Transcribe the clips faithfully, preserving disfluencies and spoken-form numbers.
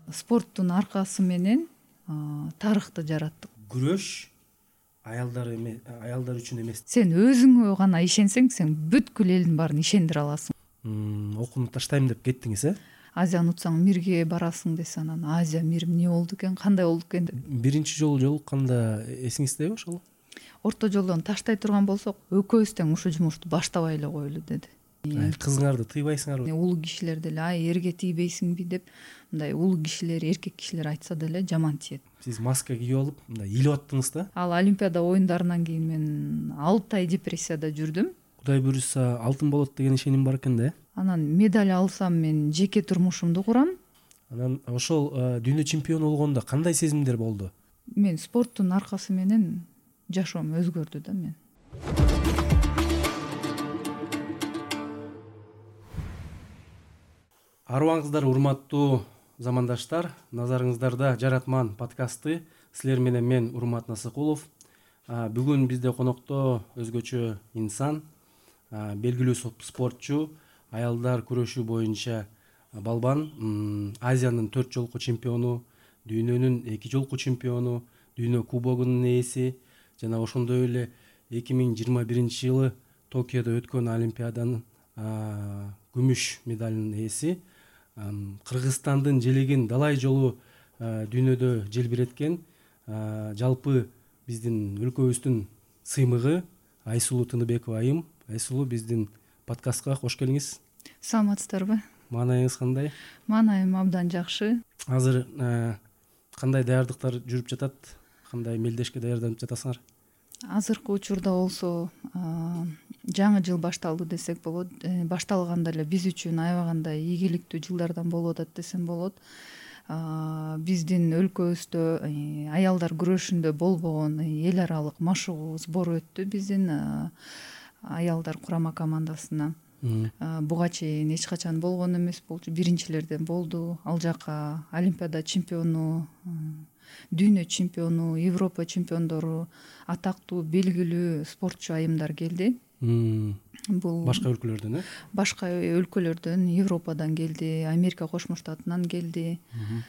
спорттун аркасы менен тарыхты жараттык. Күрөш аялдар эме аялдар үчүн эмес. Сен өзүңө гана ишенсең, сен бүткүл элдин баарын ишендире аласың. Окууну таштайм деп кеттиңиз, э? Азияны утсаң мирге барасың десе, анан Азия мир эмне болду экен, кандай болду экен деп. Биринчи жолу жолукканда эсиңиздеби ошол? Орто жолдон таштай турган болсок, экөөбүз тең ушул жумушту баштабай эле коелу деди. Кызыңарды тыйбайсыңарбы? Улуу кишилер деле ай эрге тийбейсиңби деп, мындай улуу кишилер, эркек кишилер айтса деле жаман тиет. Сиз маска кийип алып, мындай илип аттыңыз да? Ал Олимпиада оюндарынан кийин мен алты ай депрессияда жүрдүм. Кудай буйруса алтын болот деген ишеним бар экен да. Анан медаль алсам мен жеке турмушумду курам. Анан ошол дүйнө чемпиону болгондо кандай сезимдер болду? Мен спорттун аркасы менен жашоом өзгөрдү да мен. Арыбаңыздар, урматтуу замандаштар, назарыңыздарда Жаратман подкасты. Силер менен мен Урмат Насыкулов. Бүгүн бизде конокто өзгөчө инсан, белгилүү спортчу, аялдар күрөшү боюнча балбан, Азиянын төрт жолку чемпиону, дүйнөнүн эки жолку чемпиону, дүйнө кубогунун ээси жана ошондой эле эки миң жыйырма биринчи жылы Токиодо өткөн Олимпиаданын күмүш медалынын ээси, Кыргызстандын желегин далай жолу дүйнөдө желбиреткен, жалпы биздин өлкөбүздүн сыймыгы Айсулуу Тыныбекова айым. Айсулуу, биздин подкастка кош келиңиз. Саламатсыздарбы? Маанайыңыз кандай? Маанайым абдан жакшы. Азыр кандай даярдыктар жүрүп жатат? Кандай мелдешке даярданып жатасыңар? Азыркы учурда болсо жаңы жыл башталды десек болот. Башталганда эле биз үчүн аябаганда ийгиликтүү жылдардан болуп атат десем болот. Биздин өлкөбүздө аялдар күрөшүндө болбогон эл аралык машыгуу сбор өттү биздин аялдар курама командасына. Буга чейин эч качан болгон эмес болчу, биринчилерден болду. Ал жака Олимпиада чемпиону, дүйнө чемпиону, Европа чемпиондору, атактуу белгилүү спортчу айымдар келди. Бул башка өлкөлөрдөн, э? Башка өлкөлөрдөн, Европадан келди, Америка Кошмо Штатынан келди,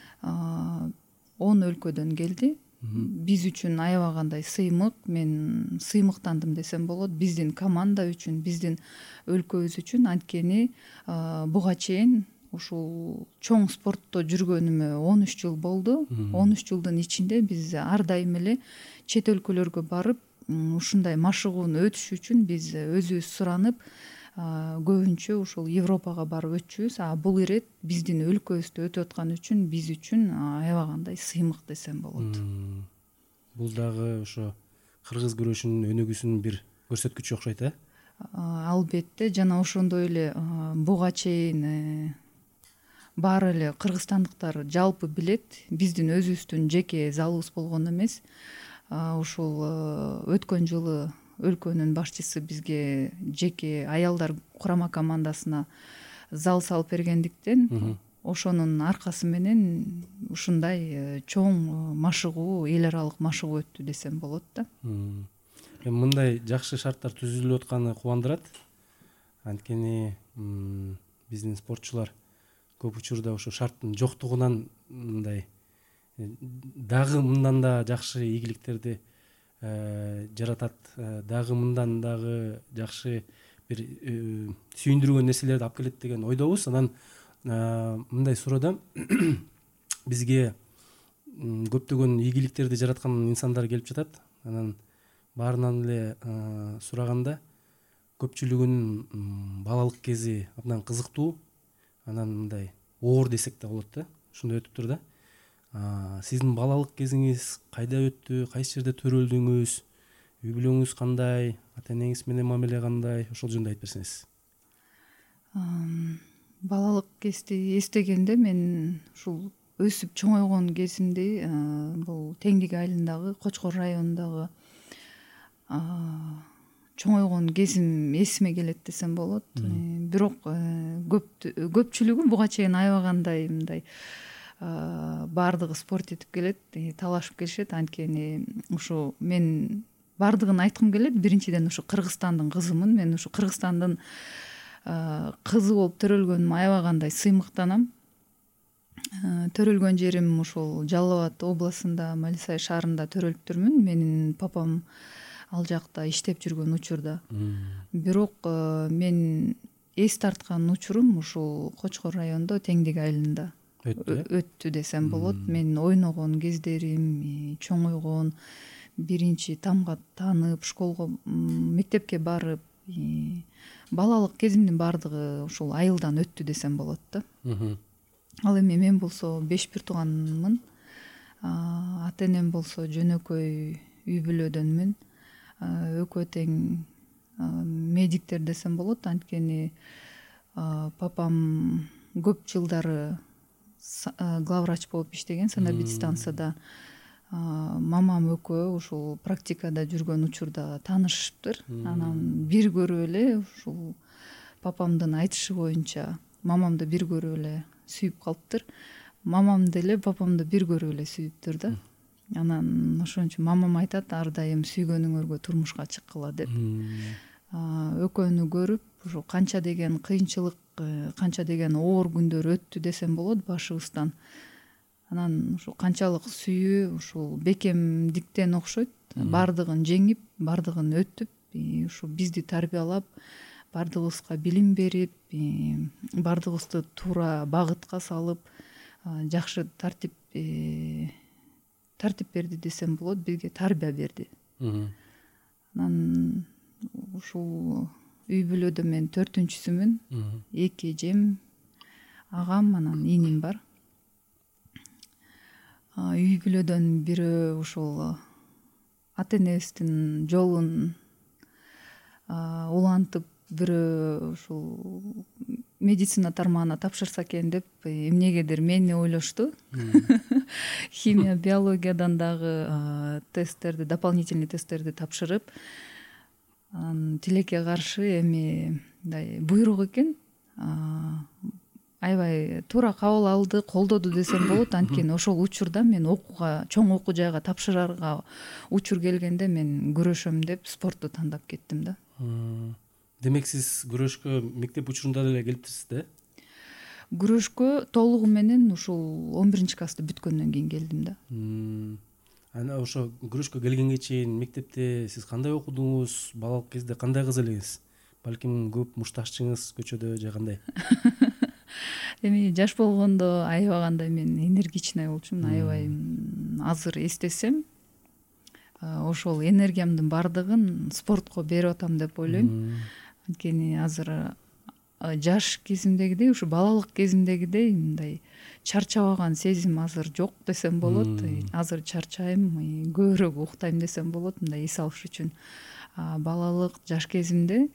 он өлкөдөн келди. Биз үчүн аябагандай сыймык, мен сыймыктандым десем болот. Биздин команда үчүн, биздин өлкөбүз үчүн, анткени буга чейин ушул чоң спортто жүргөнүмө он үч жыл болду. он үч жылдын ичинде биз ар дайым эле чет өлкөлөргө барып, ушундай машыгууну өтүш үчүн биз өзүбүз суранып, көбүнчө ушул Европага барып өтчүбүз. А бул ирет биздин өлкөбүздө өтүп аткан үчүн биз үчүн аябагандай сыймык десем болот. Бул дагы ошо кыргыз күрөшүнүн өнүгүүсүнүн бир көрсөткүчү окшойт, э? Албетте, жана ошондой эле буга чейин баары эле кыргызстандыктар жалпы билет, биздин өзүбүздүн жеке залыбыз болгон эмес. Ушул өткөн жылы өлкөнүн башчысы бизге жеке аялдар курама командасына зал салып бергендиктен, ошонун аркасы менен ушундай чоң машыгуу, эл аралык машыгуу өттү десем болот да. Мындай жакшы шарттар түзүлүп атканы кубандырат. Анткени биздин спортчулар көп учурда ошо шарттын жоктугунан мындай дагы мындан да жакшы ийгиликтерди жаратат, дагы мындан дагы жакшы бир сүйүндүргөн нерселерди алып келет деген ойдобуз. Анан мындай суроодо бизге көптөгөн ийгиликтерди жараткан инсандар келип жатат. Анан баарынан эле сураганда көпчүлүгүнүн балалык кези абдан кызыктуу, анан мындай оор десек да болот да, ушундай өтүп тур да. Сиздин балалык кезиңиз кайда өттү, кайсы жерде төрөлдүңүз, үй бүлөңүз кандай, ата энеңиз менен мамиле кандай, ошол жөнүндө айтып берсеңиз. Балалык кезди эстегенде мен ушул өсүп чоңойгон кезимди бул Теңдик айылындагы Кочкор районундагы чоңойгон кезим эсиме келет десем болот. Бирок көпчүлүгү буга чейин аябагандай мындай баардыгы спорт этип келет, талашып келишет. Анткени ушу мен баардыгын айткым келет. Биринчиден ушу Кыргызстандын кызымын. Мен ушу Кыргызстандын кызы болуп төрөлгөнүмө аябагандай сыймыктанам. Төрөлгөн жерим ушул Жалал Абад областында, Малисай шаарында төрөлүптүрмүн. Менин папам ал жакта иштеп жүргөн учурда. Бирок мен эс тарткан учурум ушул Кочкор районунда Теңдик айылында өттү десем болот. Мен ойногон кездерим, чоңойгон, биринчи тамга таанып, школго, мектепке барып, балалык кезимдин баардыгы ушул айылдан өттү десем болот да. Ал эми мен болсо беш бир тууганмын. Ата энем болсо жөнөкөй үй бүлөдөнмүн. Экөө тең медиктер десем болот. Анткени папам көп жылдары главврач болуп иштеген санэпидстанцияда. Мамам экөө ушул практикада жүргөн учурда таанышыптыр. Анан бир көрүп эле ушул папамдын айтышы боюнча мамамды бир көрүп эле сүйүп калыптыр. Мамам деле папамды бир көрүп эле сүйүптүр да. Анан ошон үчүн мамам айтат ар дайым сүйгөнүңөргө турмушка чыккыла деп. Экөөнү көрүп, ушу канча деген кыйынчылык, канча деген оор күндөр өттү десем болот башыбыздан. Анан ушу канчалык сүйүү ушул бекемдиктен окшойт. Бардыгын жеңип, бардыгын өтүп, ушу бизди тарбиялап, бардыгыбызга билим берип, бардыгыбызды туура багытка салып, жакшы тартип тартип берди десем болот, бизге тарбия берди. Анан ушул үй бүлөдө мен төртүнчүсүмүн. Эки эжем, агам, анан иним бар. Үй бүлөдөн бирөө ушул ата энебиздин жолун улантып, бирөө ушул медицина тармагына тапшырса экен деп эмнегедир мени ойлошту. Химия, биологиядан дагы тесттерди, дополнительный тесттерди тапшырып, анан тилекке каршы эми мындай буйрук экен. Аябай туура кабыл алды, колдоду десем болот. Анткени ошол учурда мен окууга, чоң окуу жайга тапшырарга учур келгенде мен күрөшөм деп спортту тандап кеттим да. Демек сиз күрөшкө мектеп учурунда эле келиптирсиз да? Күрөшкө толугу менен ушул он биринчи классты бүткөндөн кийин келдим да. Ана ошо күрөшкө келгенге чейин мектепте сиз кандай окудуңуз? Балалык кезде кандай кыз элеңиз? Балким көп мушташчыңыз көчөдө же кандай? Эми жаш болгондо аябагандай мен энергичный болчумун. Аябай азыр эстесем, ошол энергиямдын бардыгын спортко берип атам деп ойлойм. Анткени азыр жаш кезимдегидей, ушу балалык кезимдегидей мындай чарчабаган сезим азыр жок десем болот. Азыр чарчайм, көбүрөөк уктайм десем болот, мындай эс алыш үчүн. Балалык жаш кезимде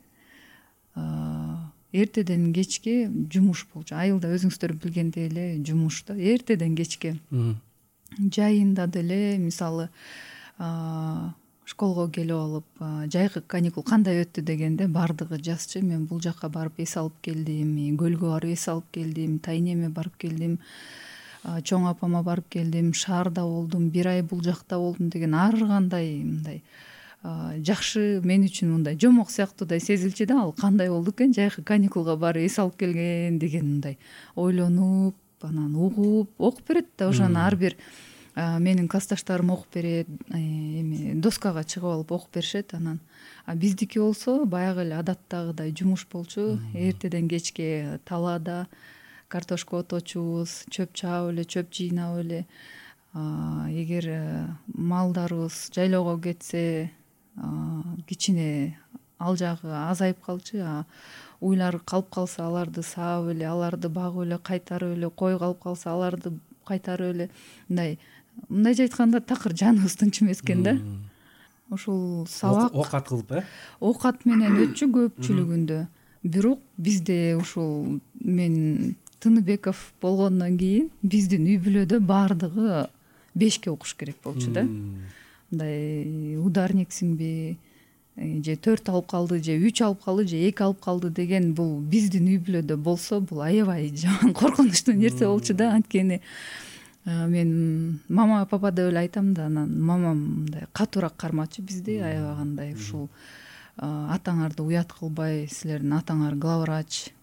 эртеден кечке жумуш болчу. Айылда өзүңүздөр билгендей эле жумуш да. Эртеден кечке. Жайында деле мисалы школго келип алып, жайкы каникул кандай өттү дегенде бардыгы жазчы. Мен бул жакка барып эс алып келдим, көлгө барып эс алып келдим, тайнеме барып келдим, чоң апама барып келдим, шаарда болдум, бир ай бул жакта болдум деген ар кандай мындай жакшы, мен үчүн мындай жомок сыяктуудай сезилчү да. Ал кандай болду экен жайкы каникулга барып эс алып келген деген мындай ойлонуп, анан угуп, окуп берет да. Ошону ар бир менин классташтарым окуп берет, эми доскага чыгып алып окуп беришет. Анан биздики болсо баягы эле адаттагыдай жумуш болчу. Эртеден кечке талаада картошка оточубуз, чөп чаап эле, чөп жыйнап эле. Эгер малдарыбыз жайлоого кетсе, кичине ал жагы азайып калчу, уйлар калып калса аларды саап эле, аларды багып эле, кайтарып эле, кой калып калса аларды кайтарып эле, мындай мындайча айтканда такыр жаныбыз тынч эмес экен да. Ушул сабак оокат кылып, э? Оокат менен өтчү көпчүлүгүндө. Бирок бизде ушул мен Тыныбеков болгондон кийин биздин үй бүлөдө бардыгы бешке окуш керек болчу да. Мындай ударниксиңби, же төрт алып калды, же үч алып калды, же эки алып калды деген бул биздин үй бүлөдө болсо, бул аябай жаман коркунучтуу нерсе болчу да. Анткени мен мама папа деп эле айтам да. Анан мамам мындай катуураак кармачу бизди, аябагандай ушул атаңарды уят кылбай, силердин атаңар главврач,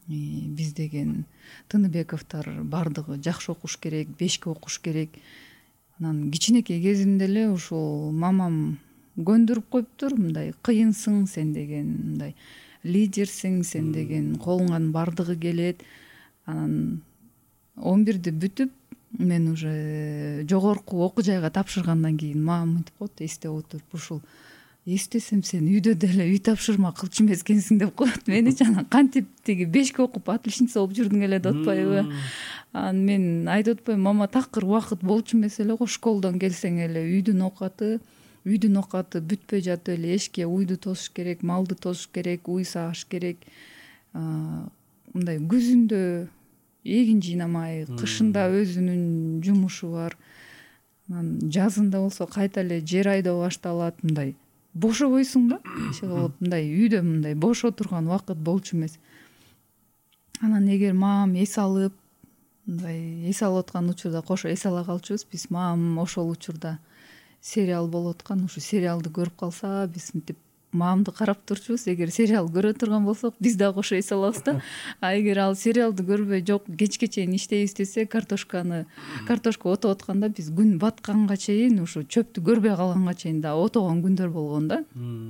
биз деген Тыныбековдор баардыгы жакшы окуш керек, бешке окуш керек. Анан кичинекей кезимде эле ушул мамам көндүрүп коюптур, мындай кыйынсың сен деген, мындай лидерсиң сен деген, колуңан баардыгы келет. Анан он бирди бүтүп мен уже жогорку окуу жайга тапшыргандан кийин мамам мынтип коет, эстеп отуруп, ушул эстесем сен үйдө деле үй тапшырма кылчу эмес экенсиң деп коет меничи. Анан кантип тиги бешке окуп отличница болуп жүрдүң эле деп атпайбы. Анан мен айтып атпаймынбы, мама такыр убакыт болчу эмес эле го, школдон келсең эле үйдүн оокаты үйдүн оокаты бүтпөй жатып эле эшикке уйду тосуш керек, малды тосуш керек, уй сааш керек. Мындай күзүндө эгин жыйнамай, кышында өзүнүн жумушу бар. Анан жазында болсо кайта эле жер айдоо башталат. Мындай бошобойсуң да, иши кылып, мындай үйдө мындай бош отурган убакыт болчу эмес. Анан эгер мамам эс алып, мындай эс алып аткан учурда кошо эс ала калчубуз. Биз мамам ошол учурда сериал болуп аткан, ушу сериалды көрүп калса, биз мынтип мамамды карап турчубуз. Эгер сериал көрө турган болсок, биз дагы кошо эс алабыз да. А эгер ал сериалды көрбөй, жок кечке чейин иштейбиз десе, картошканы картошка отоп атканда биз күн батканга чейин, ушу чөптү көрбөй калганга чейин да отогон күндөр болгон да.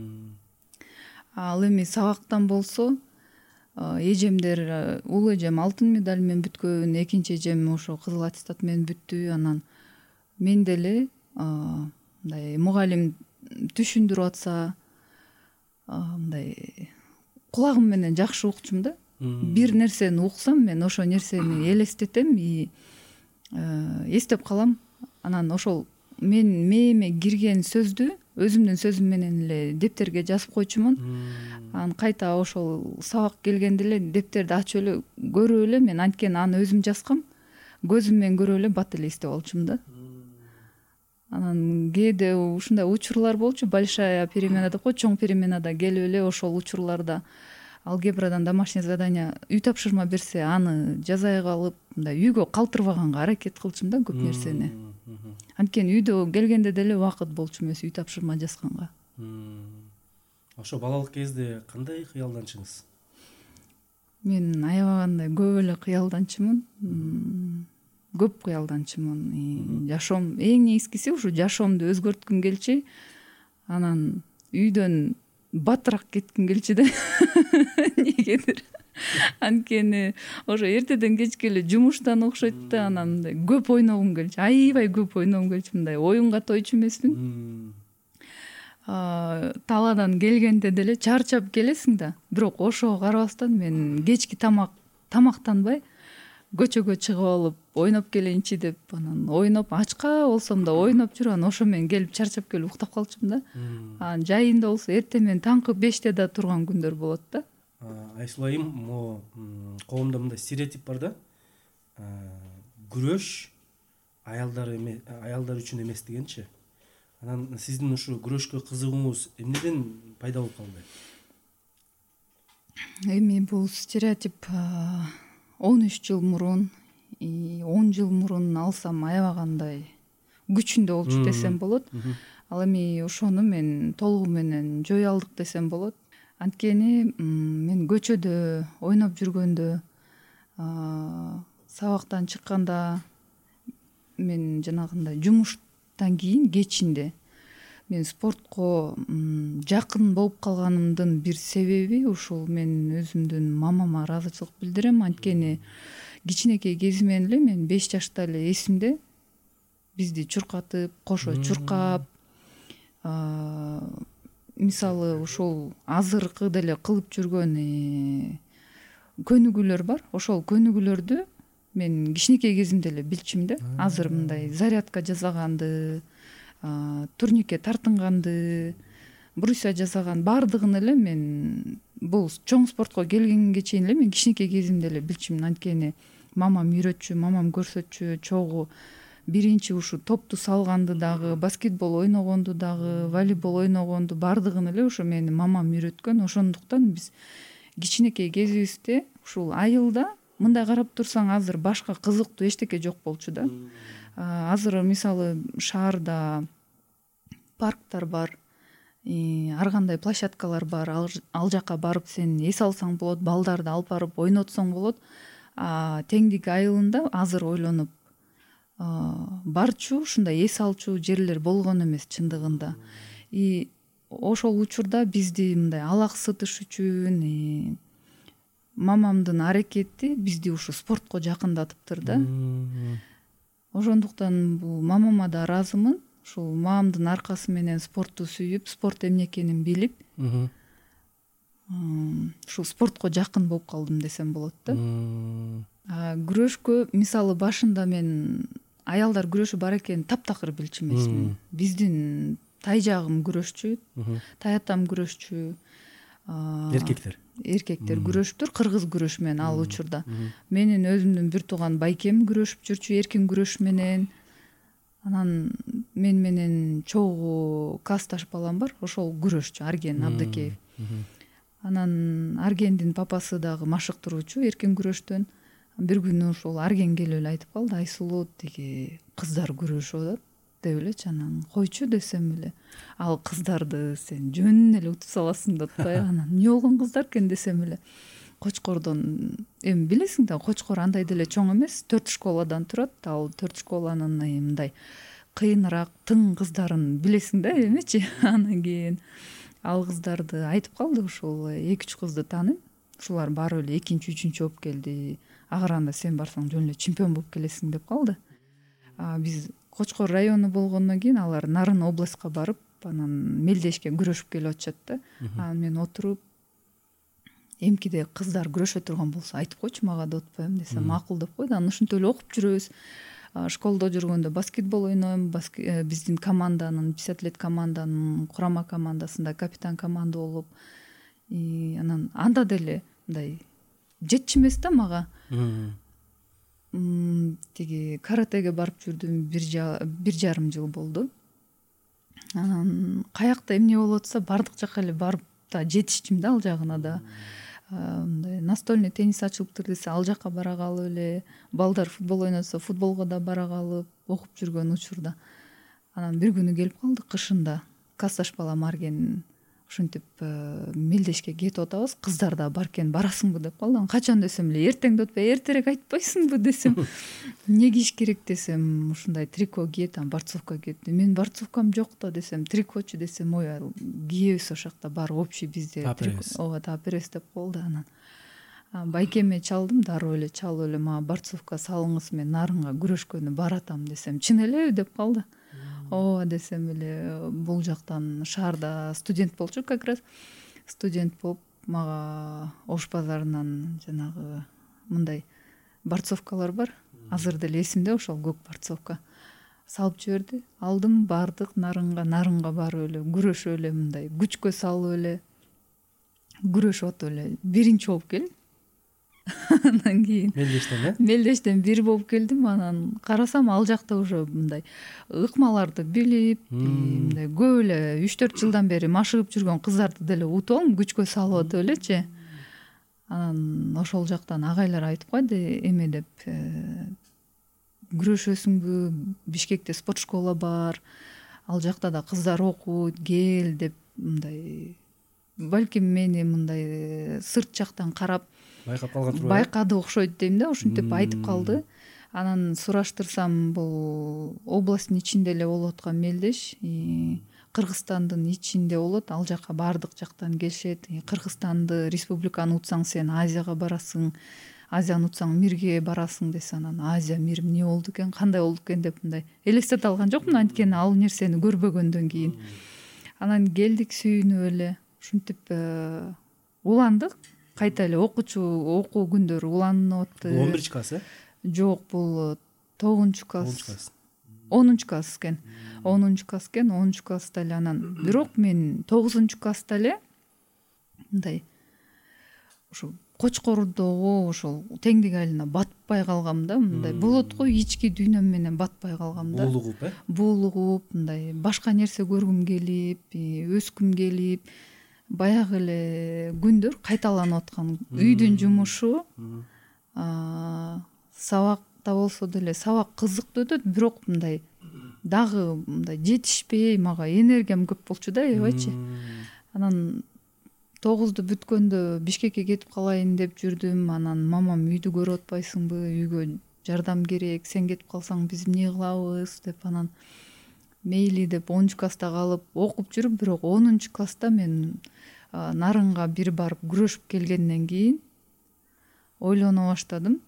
Ал эми сабактан болсо, эжемдер, улуу эжем алтын медаль менен бүткөн, экинчи эжем ошо кызыл аттестат менен бүттү. Анан мен деле мындай мугалим түшүндүрүп атса, мындай кулагым менен жакшы укчумун да. Бир нерсени уксам, мен ошол нерсени элестетем и эстеп калам. Анан ошол мен мээме кирген сөздү өзүмдүн сөзүм менен эле дептерге жазып койчумун. Анан кайта ошол сабак келгенде эле дептерди ачып эле көрүп эле, мен анткени аны өзүм жазгам, көзүм менен көрүп эле бат эле эстеп алчумун да. Анан кээде ушундай учурлар болчу, большая перемена деп коет, чоң переменада келип эле ошол учурларда алгебрадан домашнее задание үй тапшырма берсе, аны жазай калып, мындай үйгө калтырбаганга аракет кылчумун да көп нерсени. Анткени үйдө келгенде деле убакыт болчу эмес үй тапшырма жазганга. Ошо балалык кезде кандай кыялданчыңыз? Мен аябагандай көп эле кыялданчымын. Көп кыялданчымын. Жашоом эң негизгиси ушу жашоомду өзгөрткүм келчү. Анан үйдөн батыраак кетким келчү да. Негедир. Анткени ошо эртеден кечке эле жумуштан окшойт да, анан мындай көп ойногум келчү. Аябай көп ойногум келчү, мындай оюнга тойчу эмесмин. Талаадан келгенде деле чарчап келесиң да, бирок ошого карабастан мен кечки тамак тамактанбай көчөгө чыгып алып ойноп келейинчи деп, анан ойноп ачка болсом да ойноп жүрүп, анан ошо менен келип чарчап келип уктап калчумун да. Анан жайында болсо эртең менен таңкы беште да турган күндөр болот да. Айсулайым, могу коомдо мындай стереотип бар да. Күрөш аялдар эме аялдар үчүн эмес дегенчи. Анан сиздин ушу күрөшкө кызыгууңуз эмнеден пайда болуп калды? Эми бул стереотип он үч жыл мурун, он жыл мурун алсам аябагандай күчүндө болчу десем болот. Ал эми ошону мен толугу менен жое алдык десем болот. Анткени мен көчөдө ойноп жүргөндө, сабактан чыкканда, мен жанагындай жумуштан кийин кечинде мен спортко жакын болуп калганымдын бир себеби ушул мен өзүмдүн мамама ыраазычылык билдирем. Анткени кичинекей кезимен эле мен беш жашта эле эсимде бизди чуркатып, кошо чуркап, мисалы ушул азыркы деле кылып жүргөн көнүгүүлөр бар. Ошол көнүгүүлөрдү мен кичинекей кезимде эле билчүмүн да. Азыр мындай зарядка жасаганды, турникке тартынганды, брусья жасаган баардыгын эле мен бул чоң спортко келгенге чейин эле мен кичинекей кезимде эле билчүмүн. Анткени мамам үйрөтчү, мамам көрсөтчү, чогуу биринчи ушу топту салганды дагы, баскетбол ойногонду дагы, волейбол ойногонду баардыгын эле ушу менин мамам үйрөткөн. Ошондуктан биз кичинекей кезибизде ушул айылда мындай карап турсаң азыр башка кызыктуу эчтеке жок болчу да. Азыр мисалы шаарда парктар бар, ар кандай площадкалар бар, ал жака барып сен эс алсаң болот, балдарды алып барып ойнотсоң болот. Теңдик айылында азыр ойлонуп барчу ушундай эс алчу жерлер болгон эмес чындыгында. И ошол учурда бизди мындай алаксытыш үчүн мамамдын аракети бизди ушу спортко жакындатыптыр да. Ошондуктан бул мамама да ыраазымын. Ушул мамамдын аркасы менен спортту сүйүп, спорт эмне экенин билип, ушул спортко жакын болуп калдым десем болот да. Күрөшкө мисалы башында мен аялдар күрөшү бар экенин таптакыр билчү эмесмин. Биздин тай жагым күрөшчү, тай атам күрөшчү. Эркектер. Эркектер күрөшүптүр, кыргыз күрөш менен ал учурда. Менин өзүмдүн бир тууган байкем күрөшүп жүрчү эркин күрөш менен. Анан мен менен чогуу касташ балам бар, ошол күрөшчү, Арген Абдыкеев. Анан Аргендин папасы дагы машыктыруучу эркин күрөштөн. Бир күнү ошол Арген келип эле айтып калды: Айсулуу, тиги кыздар күрөшүп атат деп элечи. Анан койчу десем эле, ал кыздарды сен жөнүнөн эле утуп саласың деп атпайбы. Анан эмне болгон кыздар экен десем эле, Кочкордон, эми билесиң да, Кочкор андай деле чоң эмес, төрт школадан турат. Ал төрт школанын мындай кыйыныраак, тың кыздарын билесиң да эмечи. Анан кийин ал кыздарды айтып калды, ушул эки үч кызды тааныйм. Ушулар барып эле экинчи, үчүнчү болуп келди. Агаранда сен барсаң жөн эле чемпион болуп келесиң деп калды. Биз Кочкор району болгондон кийин алар Нарын областка барып, анан Мелдешке күрөшүп келип атышат да. Анан мен отуруп, эмкиде кыздар күрөшө турган болсо айтып койчу мага деп атпаймын десем, макул деп койду. Анан ушинтип эле окуп жүрөбүз. Школдо жүргөндө баскетбол ойнойм, биздин команданын, пятьдесят команданын курама командасында капитан команда болуп, анан анда деле мындай жетчү эмес да мага. Тиги каратеге барып жүрдүм, бир жарым жыл болду. Анан каякта эмне болуп атса бардык жака эле барып да жетиштим да, ал жагына да. Мындай настольный теннис ачылыптыр десе, ал жака бара калып эле, балдар футбол ойносо футболго да бара калып окуп жүргөн учурда. Анан бир күнү келип калды кышында. Касташ балам Арген ушинтип Мелдешке кетип атабыз, кыздар да бар экен, барасыңбы деп калды. Анан качан десем эле, эртең деп атпай, эртерээк айтпайсыңбы десем. Эмне кийиш керек десем, ушундай трико кие, там борцовка киет. Мен борцовкам жок да десем, трикочу десем, ой, кийебиз ошол жакта бар общий бизде. Ооба, таперес деп калды. Анан байкеме чалдым, дароо эле чалып эле, мага борцовка салыңыз, мен Нарынга күрөшкөнү баратам десем, чын элеби деп калды. Ооба десем эле, бул жактан шаарда студент болчу как раз. Студент болуп, мага Ош базарынан жанагы мындай борцовкалар бар. Азыр деле эсимде ошол көк борцовка. Салып жиберди. Алдым, бардык Нарынга, Нарынга барып эле күрөшүп эле мындай күчкө салып эле күрөшүп атып эле биринчи болуп келдим. Анан кийин Мелдештен э? Мелдештен бир болуп келдим. Анан карасам ал жакта уже мындай ыкмаларды билип, мындай көп эле үч төрт жылдан бери машыгып жүргөн кыздарды деле утуп алам, күчкө салып атып элечи. Анан ошол жактан агайлар айтып койду, эме деп, күрөшөсүңбү, Бишкекте спорт школа бар, ал жакта да кыздар окуйт, кел деп, мындай балким мени мындай сырт жактан карап байкап калган турбайбы? Байкады окшойт дейм да, ушинтип айтып калды. Анан сураштырсам, бул областтын ичинде эле болуп аткан Мелдеш, Кыргызстандын ичинде болот, ал жака бардык жактан келишет. Кыргызстанды, республиканы утсаң сен Азияга барасың, Азияны утсаң мирге барасың десе, анан Азия мир эмне болду экен, кандай болду экен деп мындай элестете алган жокмун, анткени ал нерсени көрбөгөндөн кийин. Анан келдик сүйүнүп эле, ушинтип уландык. Кайта эле окуучу окуу күндөрү уланып атты. он биринчи класс э? Жок, бул тогузунчу класс. онунчу класс экен. онунчу класс экен, онунчу класста эле анан. Бирок мен тогузунчу класста эле мындай ошо Кочкордогу ошол теңдик айылына батпай калгам да, мындай болот го, ички дүйнөм менен батпай калгам да. Буулугуп э? Буулугуп, мындай башка нерсе көргүм келип, өскүм келип, баягы эле күндөр кайталанып аткан. Үйдүн жумушу, сабакта болсо деле сабак кызыктуу өтөт, бирок мындай дагы мындай жетишпей, мага энергиям көп болчу да, аябайчы. Анан тогузду бүткөндө Бишкекке кетип калайын деп жүрдүм. Анан мамам үйдү көрүп атпайсыңбы, үйгө жардам керек, сен кетип калсаң биз эмне кылабыз деп. Анан мейли деп онунчу класста калып окуп жүрүп, бирок онунчу класста мен Нарынга бир барып күрөшүп келгенден кийин ойлоно баштадым.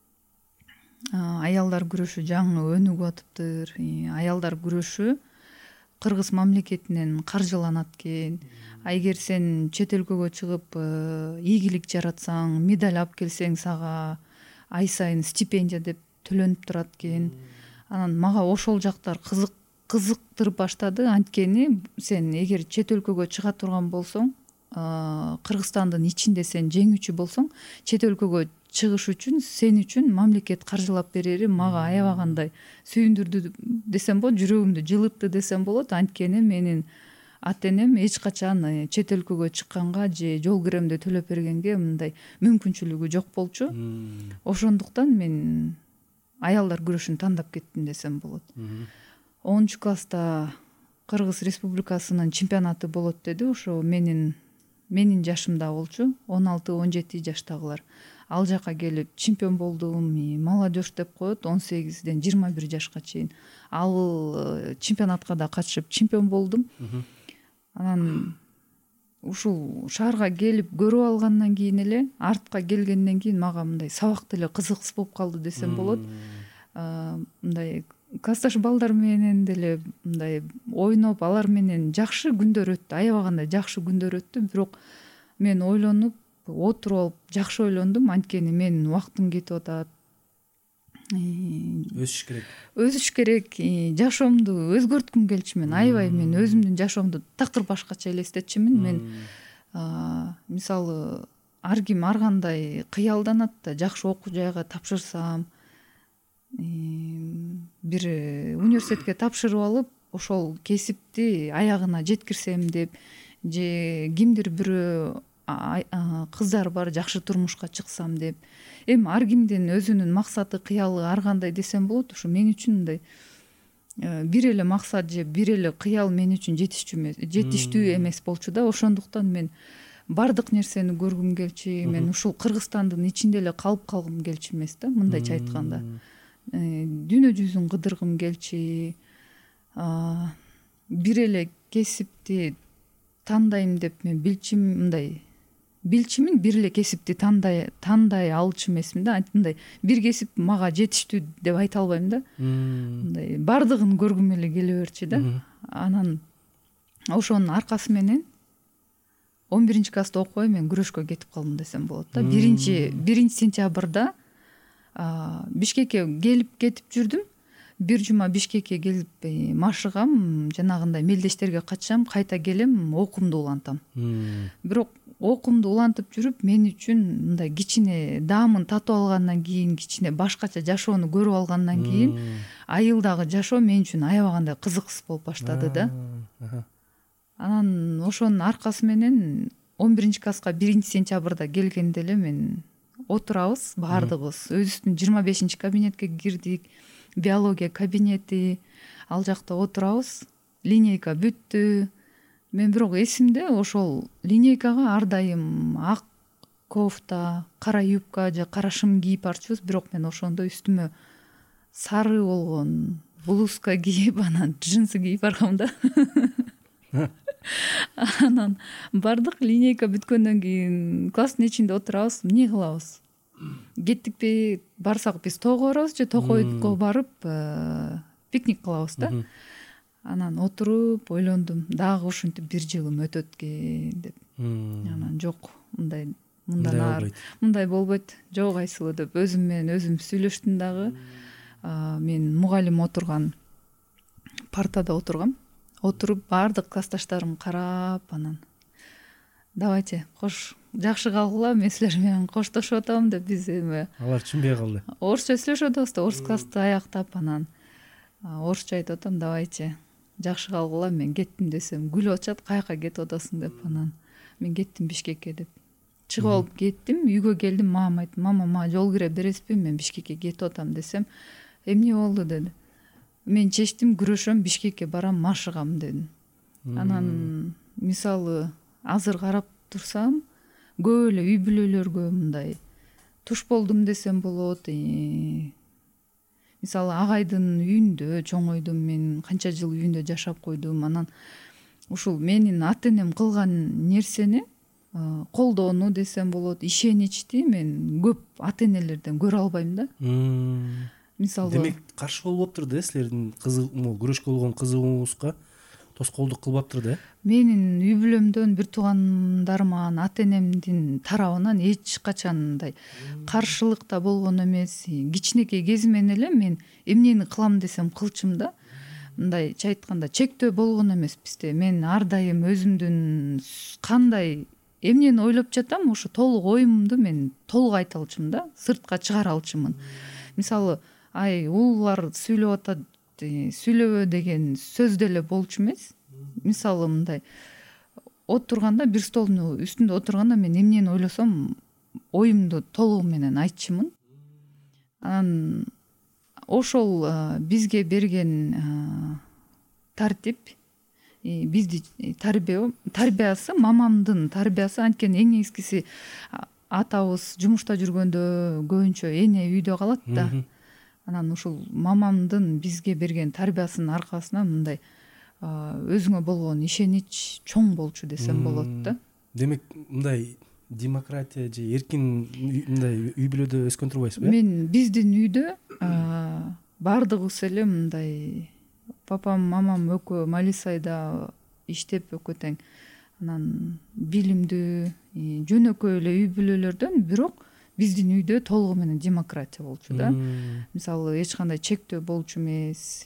Аялдар күрөшү жаңы өнүгүп атыптыр. Аялдар күрөшү Кыргыз мамлекетинен каржыланат экен. А эгер сен чет өлкөгө чыгып ийгилик жаратсаң, медаль алып келсең, сага ай сайын стипендия деп төлөнүп турат экен. Анан мага ошол жактар кызык кызыктырып баштады. Анткени сен эгер чет өлкөгө чыга турган болсоң, Кыргызстандын ичинде сен жеңүүчү болсоң, чет өлкөгө чыгыш үчүн сен үчүн мамлекет каржылап берери мага аябагандай сүйүндүрдү десем болот, жүрөгүмдү жылытты десем болот. Анткени менин ата энем эч качан чет өлкөгө чыкканга же жол киремди төлөп бергенге мындай мүмкүнчүлүгү жок болчу. Ошондуктан мен аялдар күрөшүн тандап кеттим десем болот. онунчу класста Кыргыз Республикасынын чемпионаты болот деди. Ошо менин менин жашымда болчу, он алты он жети жаштагылар. Ал жака келип чемпион болдум. Молодежь деп коет, он сегизден жыйырма бир жашка чейин. Ал чемпионатка да катышып чемпион болдум. Анан ушул шаарга келип көрүп алгандан кийин эле, артка келгенден кийин мага мындай сабак деле кызыксыз болуп калды десем болот. Мындай классташ балдар менен деле мындай ойноп, алар менен жакшы күндөр өттү, аябагандай жакшы күндөр өттү. Бирок мен ойлонуп, отуруп алып жакшы ойлондум. Анткени менин убактым кетип атат. Өсүш керек. Өсүш керек. Жашоомду өзгөрткүм келчү мен. Аябай мен өзүмдүн жашоомду такыр башкача элестетчүмүн. Мен мисалы ар ким ар кандай кыялданат да, жакшы окуу жайга тапшырсам, бир университетке тапшырып алып, ошол кесипти аягына жеткирсем деп, же кимдир бирөө кыздар бар, жакшы турмушка чыксам деп. Эми ар кимдин өзүнүн максаты, кыялы ар кандай десем болот. Ошо мен үчүн мындай бир эле максат же бир эле кыял мен үчүн жетиштүү эмес, жетиштүү эмес болчу да. Ошондуктан мен бардык нерсени көргүм келчү. Мен ушул Кыргызстандын ичинде эле калып калгым келчү эмес да, мындайча айтканда. Дүйнө жүзүн кыдыргым келчү. Бир эле кесипти тандайм деп мен билчим, мындай билчимин, бир эле кесипти тандай тандай алчу эмесмин да. Мындай бир кесип мага жетиштүү деп айта албайм да. Мындай бардыгын көргүм эле келе берчү да. Анан ошонун аркасы менен он биринчи класста окубай мен күрөшкө кетип калдым десем болот да. Биринчи биринчи сентябрда Бишкекке келип кетип жүрдүм. Бир жума Бишкекке келип машыгам, жанагындай мелдештерге катышам, кайта келем, окуумду улантам. Бирок окуумду улантып жүрүп, мен үчүн мындай кичине даамын татып алгандан кийин, кичине башкача жашоону көрүп алгандан кийин, айылдагы жашоо мен үчүн аябагандай кызыксыз болуп баштады да. Анан ошонун аркасы менен он биринчи класска биринчи сентябрда келгенде эле мен отурабыз баардыгыбыз. Өзүбүздүн жыйырма бешинчи кабинетке кирдик. Биология кабинети, ал жакта отурабыз. Линейка бүттү. Мен бирок эсимде ошол линейкага ар дайым ак кофта, кара юбка же кара шым кийип барчубуз. Бирок мен ошондо үстүмө сары болгон блузка кийип, анан джинсы кийип баргам да. Анан бардык, линейка бүткөндөн кийин класстын ичинде отурабыз, эмне кылабыз? Кеттикпи, барсак биз тоого барабыз же Токойго барып пикник кылабыз да. Анан отуруп ойлондум, дагы ушинтип бир жылым өтөт экен деп. Анан жок, мындай мындан ары мындай болбойт, жок айсылуу деп өзүм менен өзүм сүйлөштүм дагы. Мен мугалим отурган партада отургам. Отуруп бардык классташтарым карап, анан давайте кош жакшы калгыла, мен силер менен коштошуп атам деп биз эми алар түшүнбөй калды. Орусча сүйлөшүп атабыз да, орус классты аяктап, анан орусча айтып атам, давайте жакшы калгыла, мен кеттим десем күлүп атышат, каяка кетип атасың деп. Анан мен кеттим Бишкекке деп чыгып алып кеттим. Үйгө келдим, мамама айттым, мама, мага жол кире бересизби, мен Бишкекке кетип атам десем, эмне болду деди. мен чечтим, күрөшөм, Бишкекке барам, машыгам дедим. Анан мисалы азыр карап турсам көп эле үй бүлөлөргө мындай туш болдум десем болот. Мисалы агайдын үйүндө чоңойдум, мен канча жыл үйүндө жашап койдум. Анан ушул менин ата энем кылган нерсени колдоону десем болот, ишеничти мен көп ата энелерден көрө албайм да. Мисалы демек каршы болуптур да силердин кызык күрөшкө болгон кызыгууңузга тоскоолдук кылбаптыр да. Менин үй бүлөмдөн бир туугандарыман ата энемдин тарабынан эч качан мындай каршылык да болгон эмес. Кичинекей кезимен эле мен эмнени кылам десем кылчумун да. Мындайча айтканда чектөө болгон эмес бизде. Мен ар дайым өзүмдүн кандай эмнени ойлоп жатам, ошо толук оюмду мен толук айта алчумун да, сыртка чыгара алчумун. Мисалы ай уулар сүйлөп атат, сүйлөбө деген сөз деле болчу эмес. Мисалы мындай отурганда, бир столдун үстүндө отурганда мен эмнени ойлосом оюмду толугу менен айтчумун. Анан ошол бизге берген тартип, бизди тарбия тарбиясы, мамамдын тарбиясы, анткени эң негизгиси атабыз жумушта жүргөндө көбүнчө эне үйдө калат да. Анан ушул мамамдын бизге берген тарбиясынын аркасынан мындай өзүңө болгон ишенич чоң болчу десем болот да. Демек мындай демократия же эркин мындай үй бүлөдө өскөн турбайсызбы? Мен биздин үйдө бардыгыбыз эле мындай папам, мамам экөө Малисайда иштеп экөө тең. Анан билимдүү, жөнөкөй эле үй бүлөлөрдөн, бирок биздин үйдө толугу менен демократия болчу да. Мисалы эч кандай чектөө болчу эмес.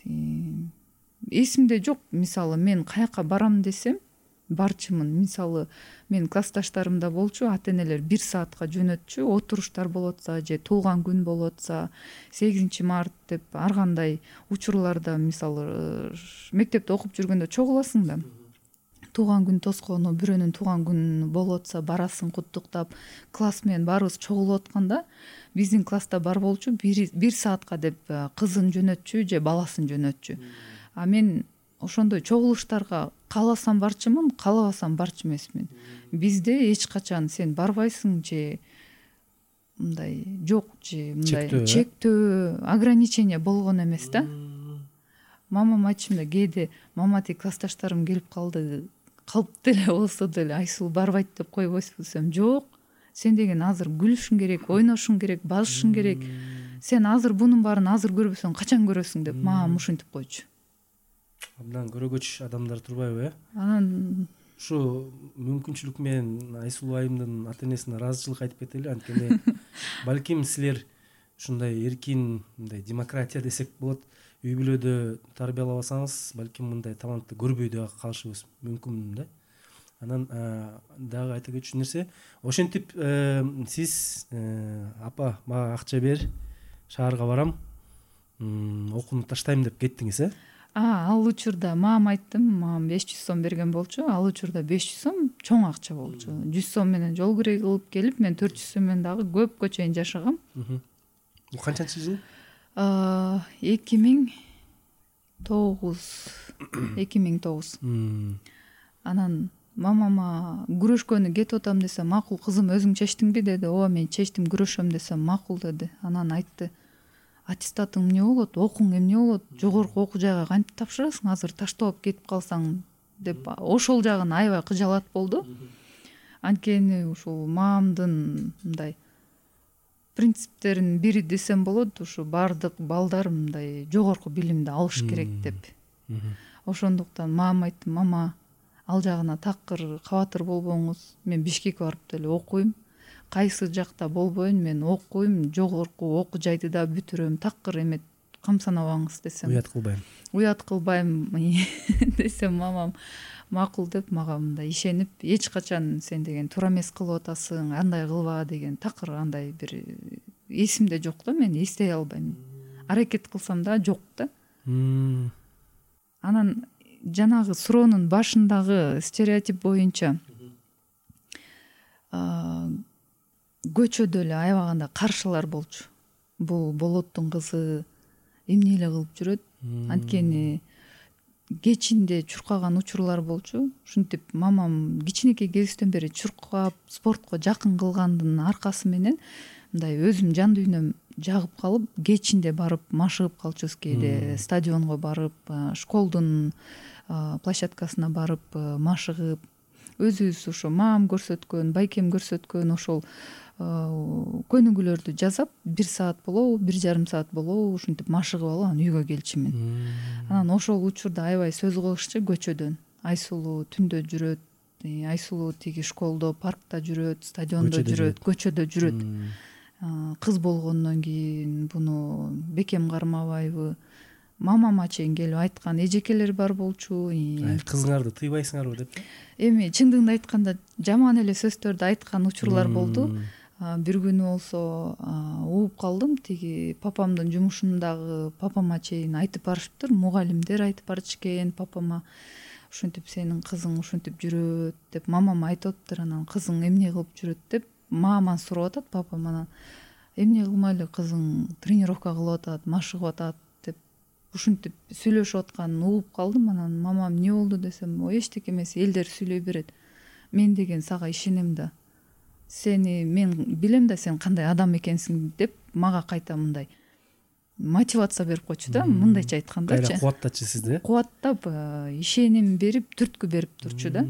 Эсимде жок, мисалы мен каяка барам десем барчумун. Мисалы мен классташтарымда болчу, ата энелер бир саатка жөнөтчү, отуруштар болотса же туулган күн болотса, сегизинчи март деп ар кандай учурларда, мисалы мектепте окуп жүргөндө чогуласың да. Туулган күн тоскону, бирөөнүн туулган күнү болотса барасың куттуктап, класс менен баарыбыз чогулуп атканда биздин класста бар болчу бир саатка деп кызын жөнөтчү же баласын жөнөтчү. А мен ошондой чогулуштарга кааласам барчумун, каалабасам барчу эмесмин. Бизде эч качан сен барбайсың же мындай жок же мындай чектөө, ограничение болгон эмес да. Мамам айтчумда, кээде мама тиги классташтарым келип калды, калп деле болсо деле Айсул барбайт деп койбойсузбу десем, жок. Сен деген азыр күлүшүң керек, ойношуң керек, базышың керек. Сен азыр бунун баарын азыр көрбөсөң качан көрөсүң деп мамам ушинтип койчу. Абдан көрөгөч адамдар турбайбы, э? Анан ушу мүмкүнчүлүк менен Айсул айымдын ата энесине ыраазычылык айтып кетели, анткени балким силер ушундай эркин, мындай демократия десек болот, үй бүлөдө тарбиялабасаңыз, балким мындай талантты көрбөй да калышыбыз мүмкүн да. Анан дагы айта кетчү нерсе, ошентип сиз апа мага акча бер, шаарга барам, окууну таштайм деп кеттиңиз, э? А, ал учурда мамам айттым, мамам беш жүз сом берген болчу. Ал учурда беш жүз сом чоң акча болчу. жүз сом менен жол кирей кылып келип, мен төрт жүз сом менен дагы көпкө чейин жашагам. Бул канчанчы жыл? эки миң тогуз. эки миң тогуз. Анан мамама күрөшкөнү кетип атам десем, макул кызым, өзүң чечтиңби деди. Ооба, мен чечтим, күрөшөм десем, макул деди. Анан айтты, аттестатың эмне болот, окууң эмне болот, жогорку окуу жайга кантип тапшырасың, азыр таштап кетип калсаң деп ошол жагын аябай кыжалат болду. Анткени ушул мамамдын мындай принциптеринин бири десем болот, ушу бардык балдар мындай жогорку билимди алыш керек деп. Ошондуктан мамам айтты, мама, ал жагына такыр кабатыр болбоңуз, мен Бишкекке барып деле окуйм. Кайсы жакта болбойн, мен окуйм, жогорку окуу жайды да бүтүрөм, такыр эме камсанабаңыз десем. Уят кылбайм. Уят кылбайм десем, мамам макул деп мага мындай ишенип, эч качан сен деген туура эмес кылып атасың, андай кылба деген такыр андай бир эсимде жок да, мен эстей албайм. Аракет кылсам да жок да. Анан жанагы суроонун башындагы стереотип боюнча көчөдө эле аябаганда каршылар болчу. Бул болоттун кызы эмне эле кылып жүрөт, анткени кечинде чуркаган учурлар болчу. Ушинтип мамам кичинекей кезиктен бери чуркап спортко жакын кылгандын аркасы менен мындай өзүм жан дүйнөм жагып калып кечинде барып машыгып калчубуз. Кээде стадионго барып, школдун площадкасына барып машыгып, өзүбүз ошо мамам көрсөткөн, байкем көрсөткөн ошол көнүгүүлөрдү жасап, бир саат болобу, бир жарым саат болобу ушинтип машыгып алып анан үйгө келчүмүн. Анан ошол учурда аябай сөз кылышчу көчөдөн. Айсулуу түндө жүрөт, Айсулуу тиги школдо, паркта жүрөт, стадиондо жүрөт, көчөдө жүрөт. Кыз болгондон кийин буну бекем кармабайбы, мамама чейин келип айткан эжекелер бар болчу. Кызыңарды тыйбайсыңарбы деп? Эми чындыгын айтканда жаман эле сөздөрдү айткан учурлар болду. Бир күнү болсо ууп калдым. Тиги папамдын жумушундагы папама чейин айтып барышыптыр, мугалимдер айтып барышкен папама. Ушинтип сенин кызың ушинтип жүрөт деп мамама айтыптыр. Анан кызың эмне кылып жүрөт деп мамаман сурап атат папам. Анан эмне кылмай эле кызың тренировка кылып атат, машыгып атат деп ушинтип сүйлөшүп атканын угуп калдым. Анан мамам эмне болду десем, эчтеке эмес, элдер сүйлөй берет. Мен деген сага ишенем да. Сени мен билем да сен кандай адам экенсиң деп мага кайта мындай мотивация берип койчу да, мындайча айткандачы. Кайра кубаттачы сизди. Кубаттап, ишеним берип, түрткү берип турчу да.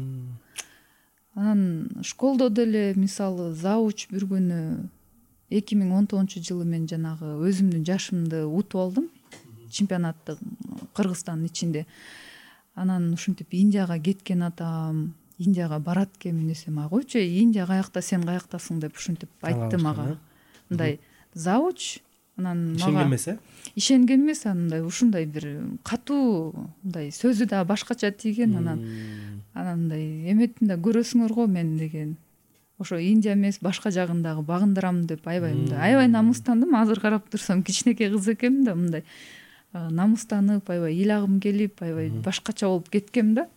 Анан школдо деле мисалы зауч бир күнү эки миң он тогузунчу жылы мен жанагы өзүмдүн жашымды утуп алдым. Чемпионатты Кыргызстандын ичинде. Анан ушинтип Индияга кеткен атам, Индияга барат экенмин десем, а койчу, Индия каякта, сен каяктасың деп ушинтип айтты мага. Мындай зауч. Анан мага ишенген эмес, э? Ишенген эмес, андай ушундай бир катуу, мындай сөзү да башкача тийген. Анан анан мындай эметин да көрөсүңөр го мен деген. Ошо Индия эмес, башка жагындагы багындырам деп аябай мындай аябай намыстандым. Азыр карап турсам кичинекей кыз экенмин да, мындай намыстанып, аябай ыйлагым келип, аябай башкача болуп кеткем да.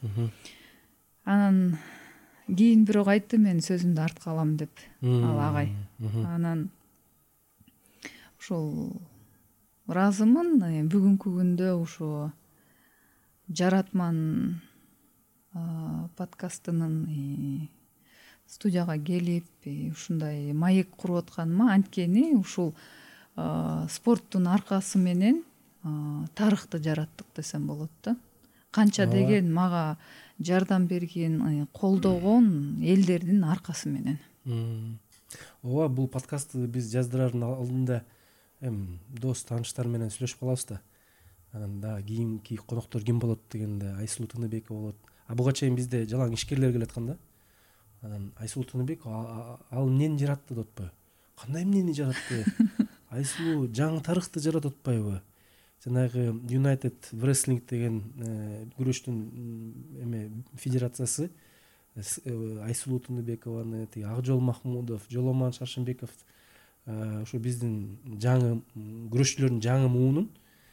Анан кийин бирок айтты, мен сөзүмдү артка алам деп, ал агай. Анан ошол ыраазымын. Бүгүнкү күндө ошо Жаратман подкастынын студияга келип ушундай маек куруп атканыма, анткени ушул спорттун аркасы менен тарыхты жараттык десем болот да. Канча деген мага жардам берген, колдогон элдердин аркасы менен. Ооба, бул подкастты биз жаздырардын алдында эми дос тааныштар менен сүйлөшүп калабыз да. Анан да кийинки коноктор ким болот дегенде Айсулуу Тыныбекова болот. А буга чейин бизде жалаң ишкерлер келаткан да. Анан Айсулуу Тыныбекова ал эмнени жаратты деп атпайбы? Кандай эмнени жаратты? Айсулуу жаңы тарыхты жаратып атпайбы? Жанагы United Wrestling деген күрөштүн эме федерациясы Айсулуу Тыныбекованы, тиги Акжол Махмудов, Жоломан Шаршымбеков ошо биздин жаңы күрөшчүлөрдүн жаңы муунун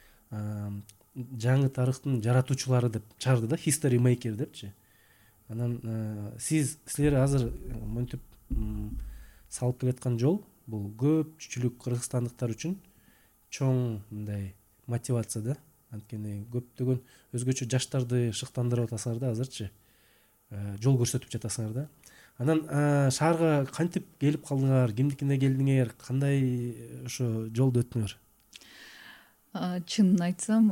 жаңы тарыхтын жаратуучулары деп чыгарды да, history maker депчи. Анан сиз силер азыр монтип салып келаткан жол бул көпчүлүк кыргызстандыктар үчүн чоң мындай мотивация да. Анткени көптөгөн өзгөчө жаштарды шыктандырып атасыңар да азырчы. Жол көрсөтүп жатасыңар да. Анан шаарга кантип келип калдыңар, кимдикине келдиңер, кандай ошо жолду өттүңөр? Чынын айтсам,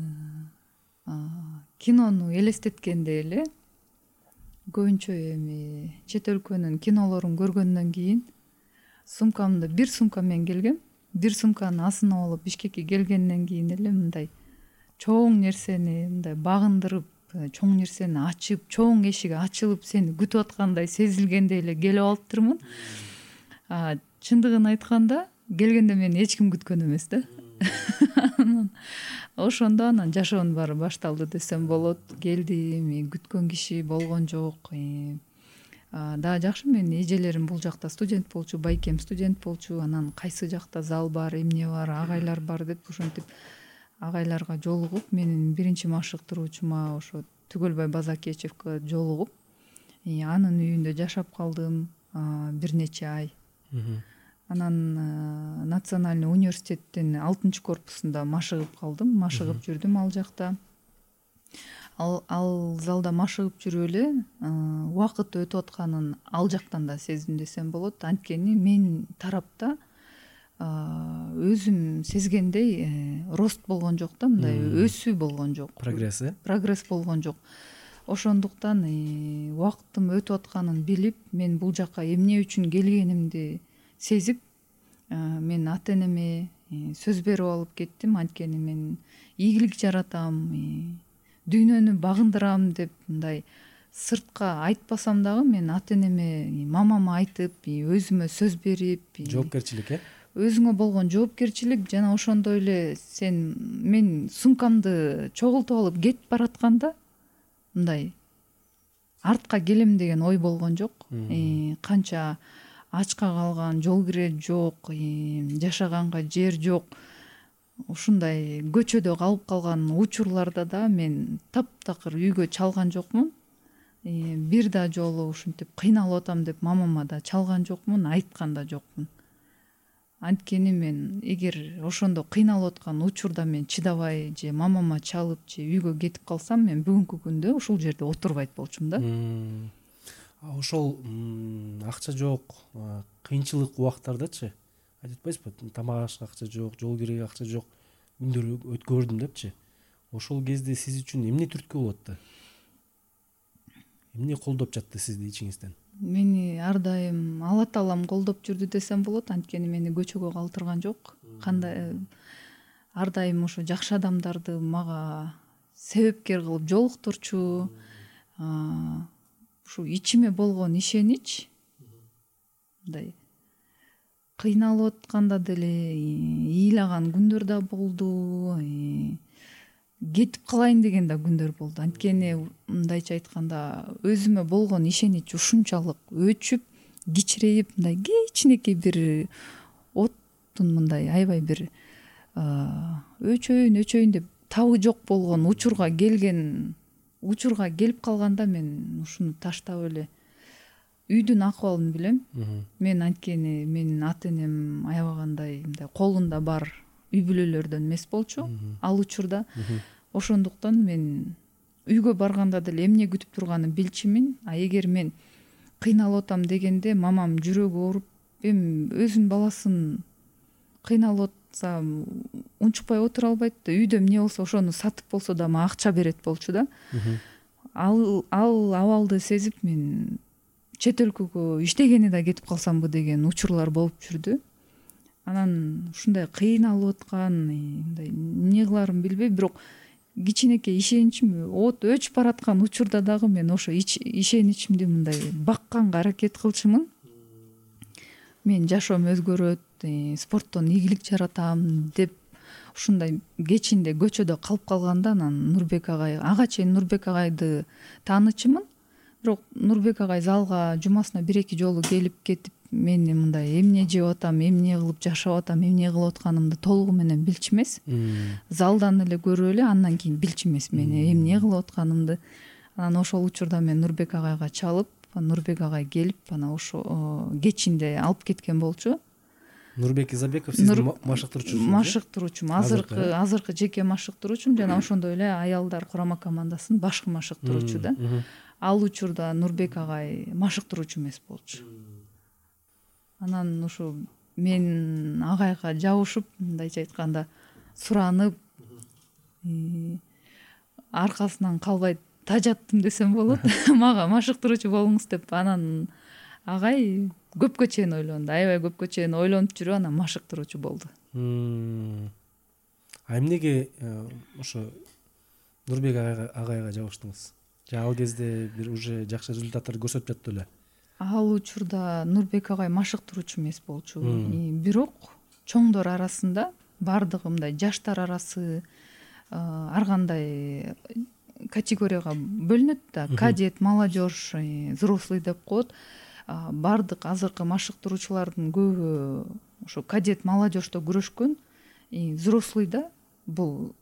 кинону элестеткенде эле көбүнчө эми чет өлкөнүн кинолорун көргөндөн кийин сумкамды бир сумка менен келгем. Бир сумканын астына алып Бишкекке келгенден кийин эле мындай чоң нерсени мындай багындырып, чоң нерсени ачып, чоң эшик ачылып сени күтүп аткандай сезилгендей эле келип алыптырмын. Чындыгын айтканда, келгенде мени эч ким күткөн эмес да. Ошондо анан жашоонун баары башталды десем болот. Келдим, күткөн киши болгон жок. Да жакшы, менин эжелерим бул жакта студент болчу, байкем студент болчу. Анан кайсы жакта зал бар, эмне бар, агайлар бар деп ошентип агайларга жолугуп, менин биринчи машыктыруучума ошо Түгөлбай Базакечевке жолугуп, анын үйүндө жашап калдым бир нече ай. анан национальный университеттин алтынчы корпусунда машыгып калдым, машыгып жүрдүм ал жакта. Ал, ал залда машыгып жүрүп эле убакыт өтүп атканын ал жактан да сездим десем болот. Анткени мен тарапта өзүм сезгендей рост болгон жок да, мындай өсүү болгон жок. Прогресс, э? Прогресс болгон жок. Ошондуктан убакыттын өтүп атканын билип, мен бул жакка эмне үчүн келгенимди сезип, мен ата энеме сөз берип алып кеттим. Анткени мен ийгилик жаратам, дүйнөнү багындырам деп мындай сыртка айтпасам дагы, мен ата энеме, мамама айтып, өзүмө сөз берип, жоопкерчилик, э? Өзүңө болгон жоопкерчилик жана ошондой эле сен мен сумкамды чогултуп алып кетип баратканда мындай артка келем деген ой болгон жок. Канча ачка калган, жол кире жок, жашаганга жер жок, ушундай көчөдө калып калган учурларда да мен таптакыр үйгө чалган жокмун. Бир да жолу ушинтип кыйналып атам деп мамама да чалган жокмун, айткан да жокмун. Анткени мен эгер ошондо кыйналып аткан учурда мен чыдабай же мамама чалып же үйгө кетип калсам, мен бүгүнкү күндө ушул жерде отурбайт болчумун да. Ошол акча жок, кыйынчылык убактардачы айтып атпайсызбы, тамак ашка акча жок, жол кирүүгө акча жок күндөр өткөрдүм депчи. Ошол кезде сиз үчүн эмне түрткү болот да? Эмне колдоп жатты сизди ичиңизден? Мени ар дайым Алла таалам колдоп жүрдү десем болот. Анткени мени көчөгө калтырган жок. Кандай ар дайым ошо жакшы адамдарды мага себепкер кылып жолуктурчу. Ушу ичиме болгон ишенич, мындай кыйналып атканда деле ыйлаган күндөр да болду, кетип калайын деген да күндөр болду. Анткени мындайча айтканда өзүмө болгон ишенич ушунчалык өчүп, кичирейип, мындай кичинекей бир оттун мындай аябай бир өчөйүн өчөйүн деп табы жок болгон учурга келген учурга келип калганда мен ушуну таштап эле үйдүн акыбалын билем. Мен анткени менин ата энем аябагандай мындай колунда бар үй бүлөлөрдөн эмес болчу ал учурда. Ошондуктан мен үйгө барганда деле эмне күтүп турганын билчүмүн. А эгер мен кыйналып атам дегенде мамам жүрөгү ооруп, эми өзүнүн баласын кыйналып атса унчукпай отура албайт да. Үйдө эмне болсо ошону сатып болсо да мага акча берет болчу да. Ал ал абалды сезип мен чет өлкөгө иштегени да кетип калсамбы деген учурлар болуп жүрдү. Анан ушундай кыйналып аткан, мындай эмне кыларын билбей, бирок кичинекей ишеничим от өчүп бараткан учурда дагы мен ошо ишеничимди мындай бакканга аракет кылчумун. Мен жашоом өзгөрөт, спорттон ийгилик жаратам деп ушундай кечинде көчөдө калып калганда, анан Нурбек агай, ага чейин Нурбек агайды таанычымын. Бирок Нурбек агай залга жумасына бир эки жолу келип кетип, мени мындай эмне жеп атам, эмне кылып жашап атам, эмне кылып атканымды толугу менен билчү эмес. Залдан эле көрүп эле андан кийин билчү эмес мени эмне кылып атканымды. Анан ошол учурда мен Нурбек агайга чалып, Нурбек агай келип, анан ошо кечинде алып кеткен болчу. Нурбек Изабеков сиздин машыктыруучусуңуз? Машыктыруучум, азыркы азыркы жеке машыктыруучум жана ошондой эле аялдар курама командасынын башкы машыктыруучу да. Ал учурда Нурбек агай машыктыруучу эмес болчу. Анан ушу мен агайга жабышып, мындайча айтканда суранып, аркасынан калбай тажаттым десем болот. Мага машыктыруучу болуңуз деп. Анан агай көпкө чейин ойлонду, аябай көпкө чейин ойлонуп жүрүп анан машыктыруучу болду. А эмнеге ошо Нурбек агайга жабыштыңыз? Же ал кезде бир уже жакшы результаттарды көрсөтүп жатты эле? Ал учурда Нурбек агай машыктыруучу эмес болчу. Бирок чоңдор арасында бардыгы мындай жаштар арасы ар кандай категорияга бөлүнөт да. Кадет, молодежь, взрослый деп коет. Бардык азыркы машыктыруучулардын көбү ошо кадет, молодежьто күрөшкөн. Взрослыйда бул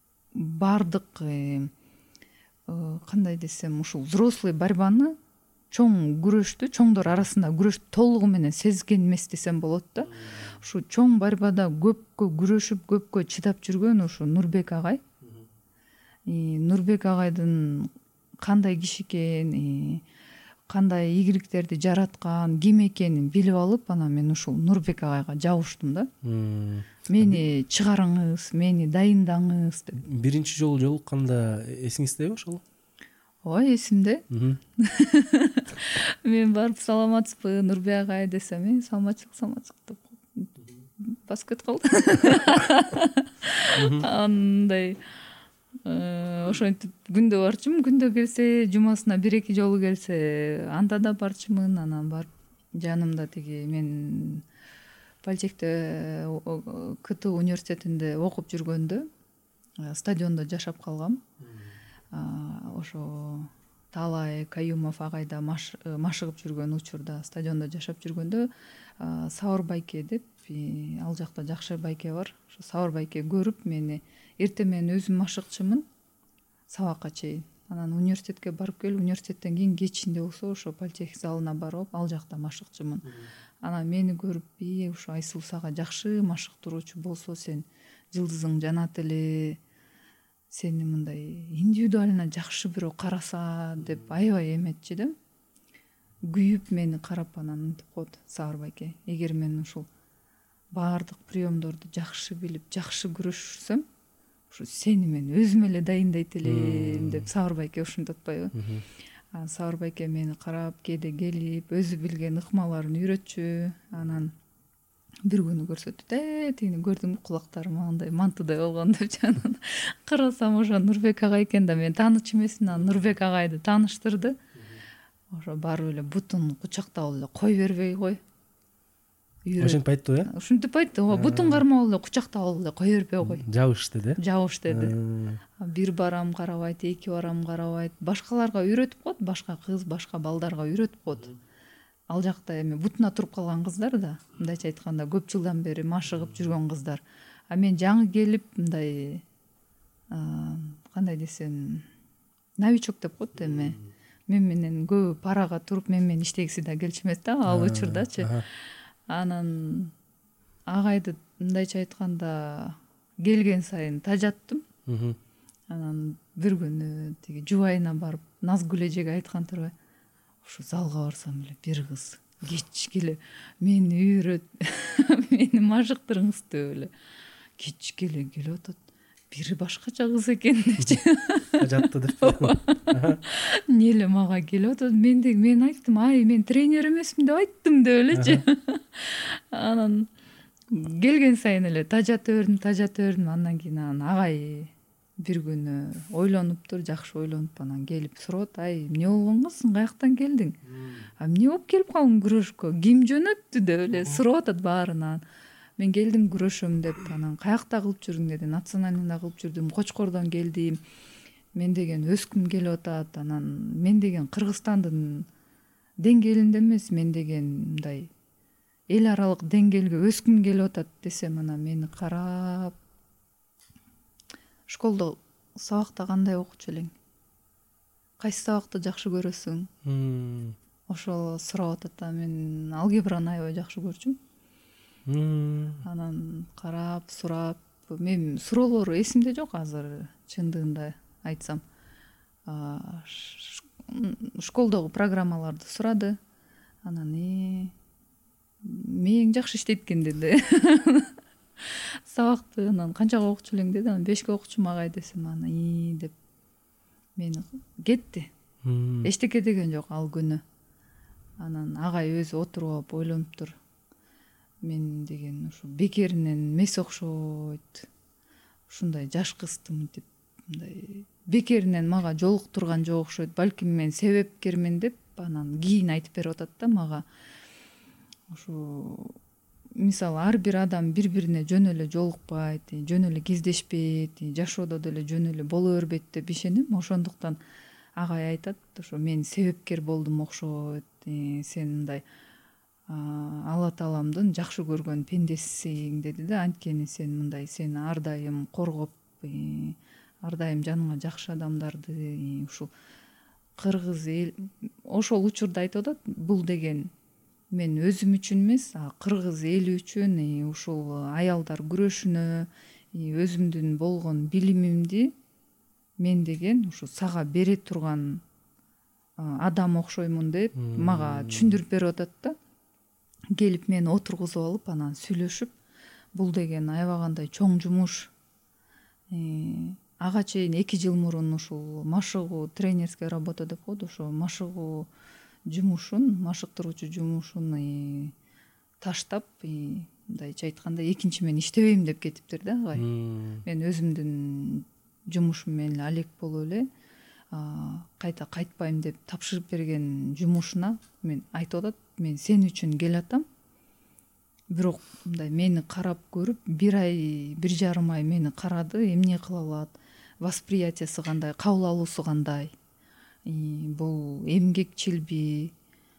бардык кандай десем, ушул взрослый борьбаны чоң күрөштү, чоңдор арасында күрөштү толугу менен сезген эмес десем болот да. Ушу чоң борьбада көпкө күрөшүп, көпкө чыдап жүргөн ушу Нурбек агай. Нурбек агайдын кандай киши экенин, кандай ийгиликтерди жараткан, ким экенин билип алып, анан мен ушул Нурбек агайга жабыштым да. Мени чыгарыңыз, мени дайындаңыз деп. Биринчи жолу жолукканда эсиңиздеби ошол? Ой, эсимде. Мен барып саламатсызбы Нурбек агай десем, мен саламатчылык, саламатчылык деп басып кетип калды. Андай ошентип күндө барчумун, күндө келсе, жумасына бир эки жолу келсе, анда да барчумун. Анан барып жанымда тиги мен Политехте КТУ университетинде окуп жүргөндө стадиондо жашап калгам. Ошо Таалай Каюмов агайда машыгып жүргөн учурда стадиондо жашап жүргөндө Сауыр байке деп, ал жакта жакшы байке бар. Ошо Сауыр байке көрүп мени, эртең мен өзүм машыкчымын сабакка чейин. Анан университетке барып келип, университеттен кийин кечинде болсо ошо политех залына барып, ал жакта машыкчымын. Анан мени көрүп, "И, ушу Айсулуу сага жакшы машыктыруучу болсо, сен жылдызың жанат эле, сени мындай индивидуально жакшы бирөө караса" деп аябай эметчи да. Күйүп мени карап анан мынтип коет Сауыр байке: "Эгер мен ушул баардык приемдорду жакшы билип, жакшы күрөшсөм, ушу сени мен өзүм эле дайындайт элем" деп Сауыр байке ушинтип атпайбы. Сауыр байке мени карап, кээде келип, өзү билген ыкмаларын үйрөтчү. Анан бир күнү көрсөтүп, "Э, тигини көрдүңбү, кулактарым андай мантыдай болгон" депчи. Анан карасам ошо Нурбек агай экен да, мен тааныч эмесмин. Анан Нурбек агайды тааныштырды. Ошо барып эле бутун кучактап эле кой бербей кой. Ошентип айтты э? Ушинтип айтты. Ооба, бутун кармап эле кучактап эле кой бербей кой. Жабыш деди. Жабыш деди. Бир барам карабайт, эки барам карабайт. Башкаларга үйрөтүп коет, башка кыз, башка балдарга үйрөтүп коет. Ал жакта эми бутуна туруп калган кыздар да, мындайча айтканда, көп жылдан бери машыгып жүргөн кыздар. А мен жаңы келип, мындай кандай десем, новичок деп коет эми. Мен менен көп парага туруп, мен менен иштегиси да келчү эмес да ал учурдачы. Анан агайды мындайча айтканда келген сайын тажаттым. Анан бир күнү тиги жубайына барып Назгүл эжеге айткан турбай, ушу залга барсам эле бир кыз кечке эле мени үйрөт, мени машыктырыңыз деп эле кечке эле келип атат. Бири башкача кыз экен депчи. Тажатты деп. Эмне эле мага келип атат, мен деги мен айттым, "Ай, мен тренер эмесмин" деп айттым деп элечи. Анан келген сайын эле тажата бердим, тажата бердим. Андан кийин анан агай бир күнү ойлонуптур, жакшы ойлонуп анан келип сурап, "Ай, эмне болгон кызсың, каяктан келдиң? А эмне болуп келип калдың күрөшкө? Ким жөнөттү?" деп эле сурап атат баарынан. Мен келдим күрөшөм деп. Анан каякта кылып жүрдүң деди. Национальныйда кылып жүрдүм, Кочкордон келдим. Мен деген өскүм келип атат. Анан мен деген Кыргызстандын деңгээлинде эмес, мен деген мындай эл аралык деңгээлге өскүм келип атат десем, анан мени карап, "Школдо сабакта кандай окучу элең? Кайсы сабакты жакшы көрөсүң?" Ошол сурап атат да, мен алгебраны аябай жакшы көрчүм. Анан карап, сурап, мен суроолору эсимде жок азыр, чындыгында айтсам. Школдогу программаларды сурады. Анан э мээң жакшы иштейт экен деди. Сабакты анан канчага окучу элең деди. Анан бешке окучум агай десем, анан и деп мени кетти. Эчтеке деген жок ал күнү. Анан агай өзү отуруп алып ойлонуптур. Мен деген ушу бекеринен эмес окшойт. Ушундай жаш кызды мынтип мындай бекеринен мага жолуктурган жок окшойт. Балким мен себепкермин деп анан кийин айтып берип атат да мага. Ушу мисалы ар бир адам бири-бирине жөн эле жолукпайт, жөн эле кездешпейт, жашоодо деле жөн эле боло бербейт деп ишенем. Ошондуктан агай айтат, ошо мен себепкер болдум окшойт. Сен мындай Алла Тааламдын жакшы көргөн пендесисиң деди да. Анткени сен мындай сени ар дайым коргоп, ар дайым жаныңа жакшы адамдарды ушул кыргыз эл ошол учурда айтып атат, бул деген мен өзүм үчүн эмес, кыргыз эли үчүн, ушул аялдар күрөшүнө, өзүмдүн болгон билимимди мен деген ушу сага бере турган адам окшоймун деп мага түшүндүрүп берип атат да. Келип мени отургузуп алып анан сүйлөшүп, бул деген аябагандай чоң жумуш. Ага чейин эки жыл мурун ушул машыгуу, тренерская работа деп коет, ошо машыгуу жумушун, машыктыруучу жумушун таштап, мындайча айтканда экинчи мен иштебейм деп кетиптир да агай. Мен өзүмдүн жумушум менен эле алек болуп эле кайта кайтпайм деп тапшырып берген жумушуна мен айтып атат, мен сен үчүн келатам. Бирок мындай мени карап көрүп, бир ай, бир жарым ай мени карады, эмне кыла алат, восприятиясы кандай, кабыл алуусу кандай, бул эмгекчилби,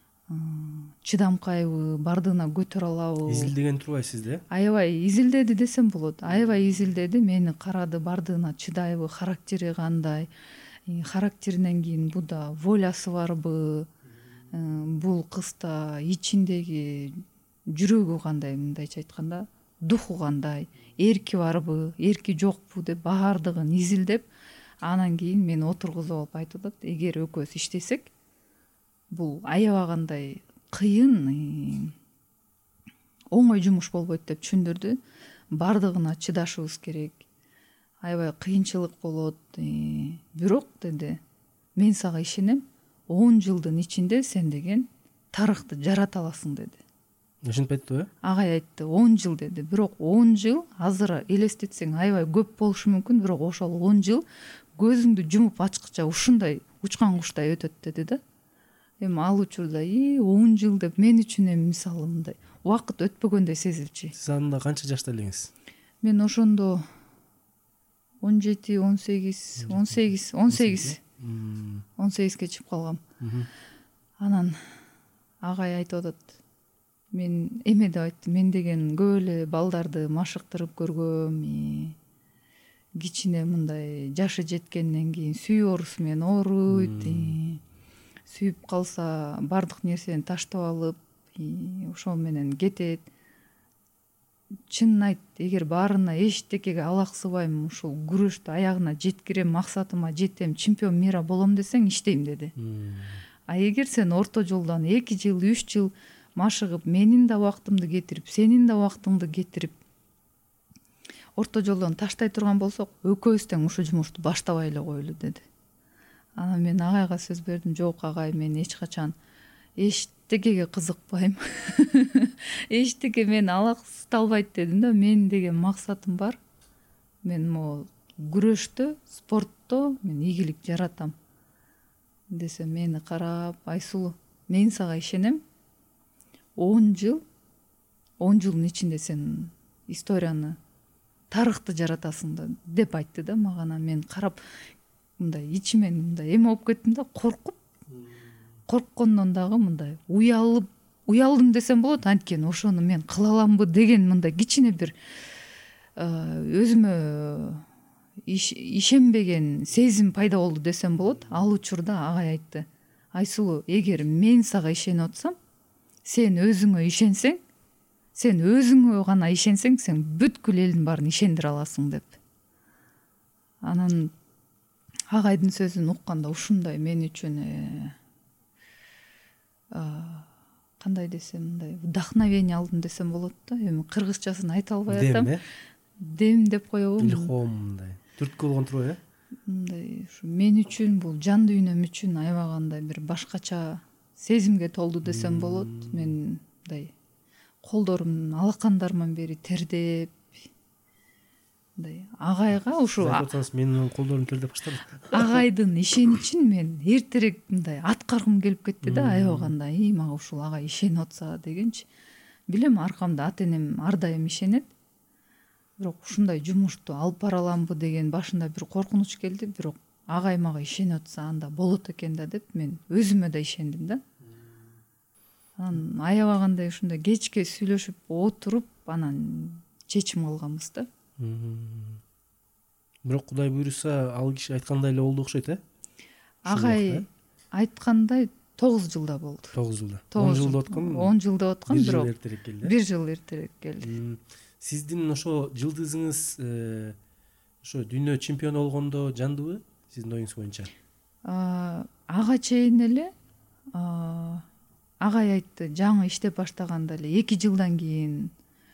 чыдамкайбы, бардыгына көтөрө алабы? Изилдеген турбайсыз да? Аябай изилдеди десем болот. Аябай изилдеди, мени карады, бардыгына чыдайбы, характери кандай, характеринен кийин буда волясы барбы, бул кызда ичиндеги жүрөгү кандай, мындайча айтканда духу кандай, эрки барбы, эрки жокпу деп баардыгын изилдеп, анан кийин мени отургузуп алып айтып атат, эгер экөөбүз иштесек, бул аябагандай кыйын, оңой жумуш болбойт деп түшүндүрдү. Бардыгына чыдашыбыз керек, аябай кыйынчылык болот, бирок деди, мен сага ишенем, он жылдын ичинде сен деген тарыхты жарата аласың деди. Ошентип айттыбы? Агай айтты, он жыл деди. Бирок он жыл азыр элестетсең аябай көп болушу мүмкүн, бирок ошол он жыл көзүңдү жумуп ачкыча ушундай учкан куштай өтөт деди да. Эми ал учурда и он жыл деп мен үчүн эми мисалы мындай убакыт өтпөгөндөй сезилчү. Сиз анда канча жашта элеңиз? Мен ошондо он жети, он сегиз, он сегиз, он сегиз, он сегизге чыгып калгам. Анан агай айтып атат, мен эме деп айтты, мен деген көп эле балдарды машыктырып көргөм, кичине мындай жашы жеткенден кийин сүйүү оорусу менен ооруйт, сүйүп калса бардык нерсени таштап алып, ошол менен кетет. Чынын айт, эгер баарына эчтекеге алаксыбайм, ушул күрөштү аягына жеткирем, максатыма жетем, чемпион мира болом десең иштейм деди. А эгер сен орто жолдон эки жыл, үч жыл машыгып, менин да убактымды кетирип, сенин да убактыңды кетирип, орто жолдон таштай турган болсок, экөөбүз тең ушул жумушту баштабай эле коелу деди. Анан мен агайга сөз бердим, жок агай, мен эч качан эчтекеге кызыкпайм. Эчтеке мени алаксыталбайт дедим да. Мен деген максатым бар. Мен могу күрөштө, спортто мен ийгилик жаратам. Десе мени карап, Айсулуу, мен сага ишенем. он жыл, он жылдын ичинде сен историяны, тарыхты жаратасың да деп айтты да мага. Мен карап мындай ичимен мындай эме болуп кеттим да, коркуп. Корккондон дагы мындай уялып, уялдым десем болот, анткени ошону мен кыла аламбы деген мындай кичине бир өзүмө ишенбеген сезим пайда болду десем болот. Ал учурда агай айтты, Айсулуу, эгер мен сага ишенип атсам, сен өзүңө ишенсең, сен өзүңө гана ишенсең, сен бүткүл элдин баарын ишендире аласың деп. Анан агайдын сөзүн укканда ушундай мен үчүн кандай десем, мындай вдохновение алдым десем болот да. Эми кыргызчасын айта албай атам. Дем, Дем деп коебу? Илхом мындай. Түрткү болгон турбайбы? Мындай ушу мен үчүн, бул жан дүйнөм үчүн аябагандай бир башкача сезимге толду десем болот. Мен мындай колдорум алакандарыман бери тердеп, мындай агайга ушу айтсаңыз менин колдорум тердеп баштады. Агайдын ишеничин мен эртерээк мындай аткаргым келип кетти да, аябагандай, и мага ушул агай ишенип атса дегенчи. Билем, аркамда ата энем ар дайым ишенет. Бирок ушундай жумушту алып бара аламбы деген башында бир коркунуч келди, бирок агай мага ишенип атса анда болот экен да деп мен өзүмө да ишендим да. Анан аябагандай ушундай кечке сүйлөшүп отуруп, анан чечим алганбыз да. Бирок Кудай буйруса, ал киши айткандай эле болду окшойт, э? Агай айткандай тогуз жылда болду. тогуз жылда. он жылда өткөн. он жылда өткөн, бирок бир жыл эртерээк келди. бир жыл эртерээк келди. Сиздин ошо жылдызыңыз ошо дүйнө чемпиону болгондо жандыбы сиздин оюңуз боюнча? Ага чейин эле агай айтты, жаңы иштеп баштаганда эле эки жылдан кийин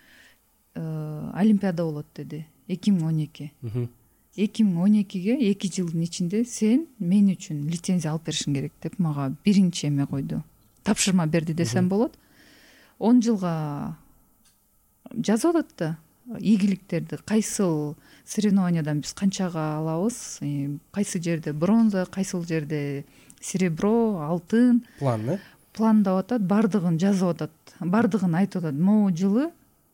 олимпиада болот деди. эки миң он эки. эки миң он экиге эки жылдын ичинде сен мен үчүн лицензия алып беришиң керек деп мага биринчи эме койду. Тапшырма берди десем болот. он жылга жазып атат да ийгиликтерди, кайсыл соревнованиядан биз канчага алабыз, кайсы жерде бронза, кайсыл жерде серебро, алтын. План, э? Пландап атат, бардыгын жазып атат, бардыгын айтып атат. Могу жылы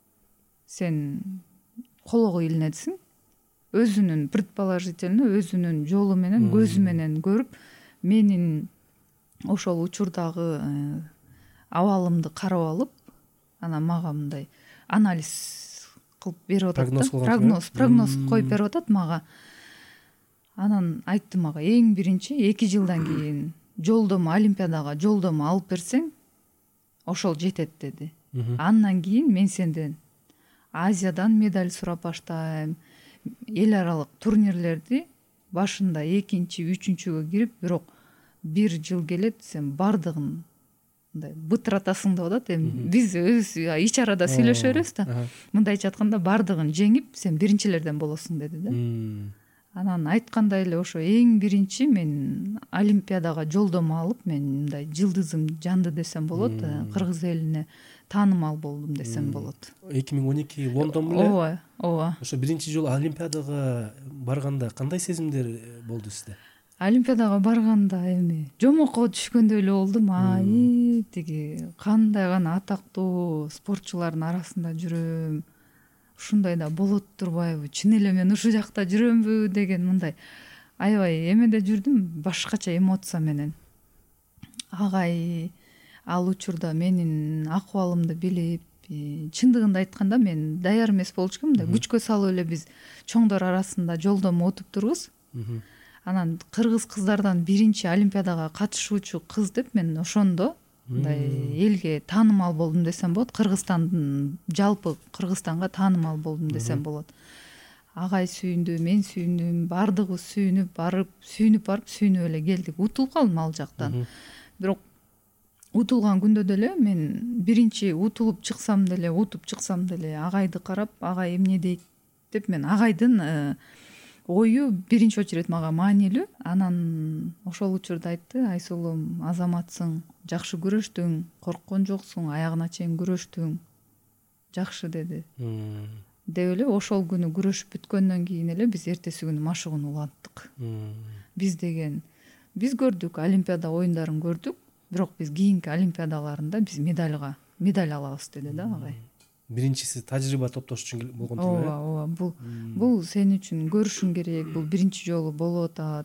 сен колого илинесиң, өзүнүн предположительно, өзүнүн жолу менен, көзү менен көрүп, менин ошол учурдагы абалымды карап алып, анан мага мындай анализ кылып берип атат да, прогноз, прогноз коюп берип атат мага. Анан айтты мага, эң биринчи эки жылдан кийин жолдомо, олимпиадага жолдомо алып берсең, ошол жетет деди. Андан кийин мен сенден Азиядан медаль сурап баштайм, эл аралык турнирлерди башында экинчи, үчүнчүгө кирип, бирок бир жыл келет, сен бардыгын мындай бытыратасың деп атат. Эми биз өз ич арада сүйлөшө беребиз да. Мындайча айтканда бардыгын жеңип, сен биринчилерден болосуң деди да. Анан айткандай эле ошо эң биринчи мен олимпиадага жолдомо алып, мен мындай жылдызым жанды десем болот, кыргыз элине таанымал болдум десем болот. эки миң он эки Лондон беле? Ооба, ооба. Ошо биринчи жолу олимпиадага барганда кандай сезимдер болду сизде? Олимпиадага барганда эми жомокко түшкөндөй эле болдум. Ай, тиги кандай гана атактуу спортчулардын арасында жүрөм. Ушундай да болот турбайбы? Чын эле мен ушул жакта жүрөмбү деген мындай аябай эмеде жүрдүм, башкача эмоция менен. Агай ал учурда менин акыбалымды билип, чындыгында айтканда мен даяр эмес болчумун да, күчкө салып эле биз чоңдор арасында жолдомо утуп турбуз. Анан кыргыз кыздардан биринчи олимпиадага катышуучу кыз деп мен ошондо мындай элге таанымал болдум десем болот. Кыргызстандын жалпы Кыргызстанга таанымал болдум десем болот. Агай сүйүндү, мен сүйүндүм, бардыгыбыз сүйүнүп барып, сүйүнүп барып, сүйүнүп эле келдик. Утулуп калдым ал жактан. Бирок утулган күндө деле мен биринчи утулуп чыксам деле, утуп чыксам деле агайды карап, агай эмне дейт деп мен агайдын ою биринчи очередь мага маанилүү. Анан ошол учурда айтты, Айсулум, азаматсың, жакшы күрөштүң, корккон жоксуң, аягына чейин күрөштүң, жакшы деди. Деп эле ошол күнү күрөшүп бүткөндөн кийин эле биз эртеси күнү машыгууну уланттык. Биз деген биз көрдүк, олимпиада оюндарын көрдүк, бирок биз кийинки олимпиадаларында биз медальга медаль алабыз деди да агай. Биринчиси тажрыйба топтош үчүн болгон турбайбы? Ооба, ооба. Бул бул сен үчүн көрүшүң керек, бул биринчи жолу болуп атат.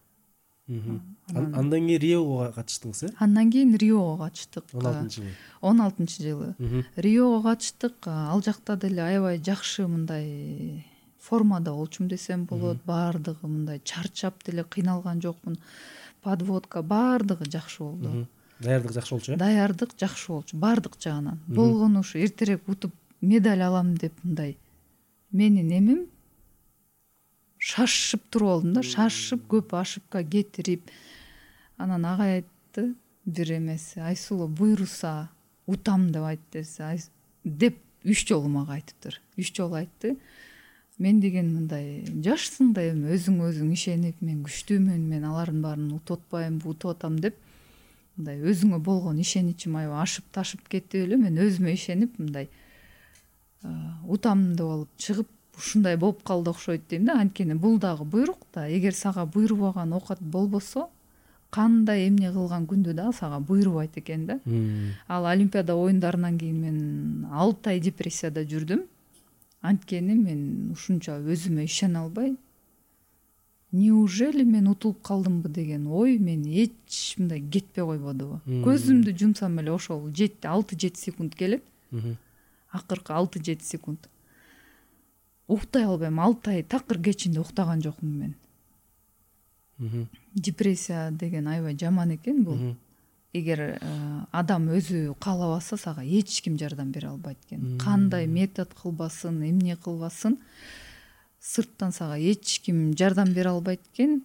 Андан кийин Риого катыштыңыз, э? Андан кийин Риого катыштык. он алтынчы жылы. он алтынчы жылы. Риого катыштык. Ал жакта деле аябай жакшы мындай формада болчумун десем болот. Бардыгы мындай чарчап деле кыйналган жокмун. Подводка бардыгы жакшы болду. Даярдык жакшы болчу, э? Даярдык жакшы болчу, бардык жагынан. Болгону ушу эртерээк утуп медаль алам деп мындай менин эмем шашып туруп алдым да, шашып көп ошибка кетирип. Анан агай айтты бир эмеси, Айсулу буйруса утам деп айтты деп үч жолу мага айтыптыр. үч жолу айтты. Мен деген мындай жашсың да эми өзүңө өзүң ишенип, мен күчтүүмүн, мен алардын баарын утуп атпайм, утуп атам деп мындай өзүңө болгон ишеничим аябай ашып ташып кетип эле мен өзүмө ишенип мындай утам деп алып чыгып ушундай болуп калды окшойт дейм да. Анткени бул дагы буйрук да, эгер сага буйрубаган оокат болбосо, кандай эмне кылган күндө дагы сага буйрубайт экен да. Ал олимпиада оюндарынан кийин мен алты ай депрессияда жүрдүм. Анткени мен ушунча өзүмө ишене албай, неужели мен утулуп калдымбы деген ой мени эч мындай кетпей койбодубу. Көзүмдү жумсам эле ошол алты жети секунд келет. Акыркы алты жети секунд. Уктай албайм, алты ай такыр кечинде уктаган жокмун мен. Депрессия деген аябай жаман экен бул. Эгер адам өзү каалабаса сага эч ким жардам бере албайт экен. Кандай метод кылбасын, эмне кылбасын, сырттан сага эч ким жардам бере албайт экен.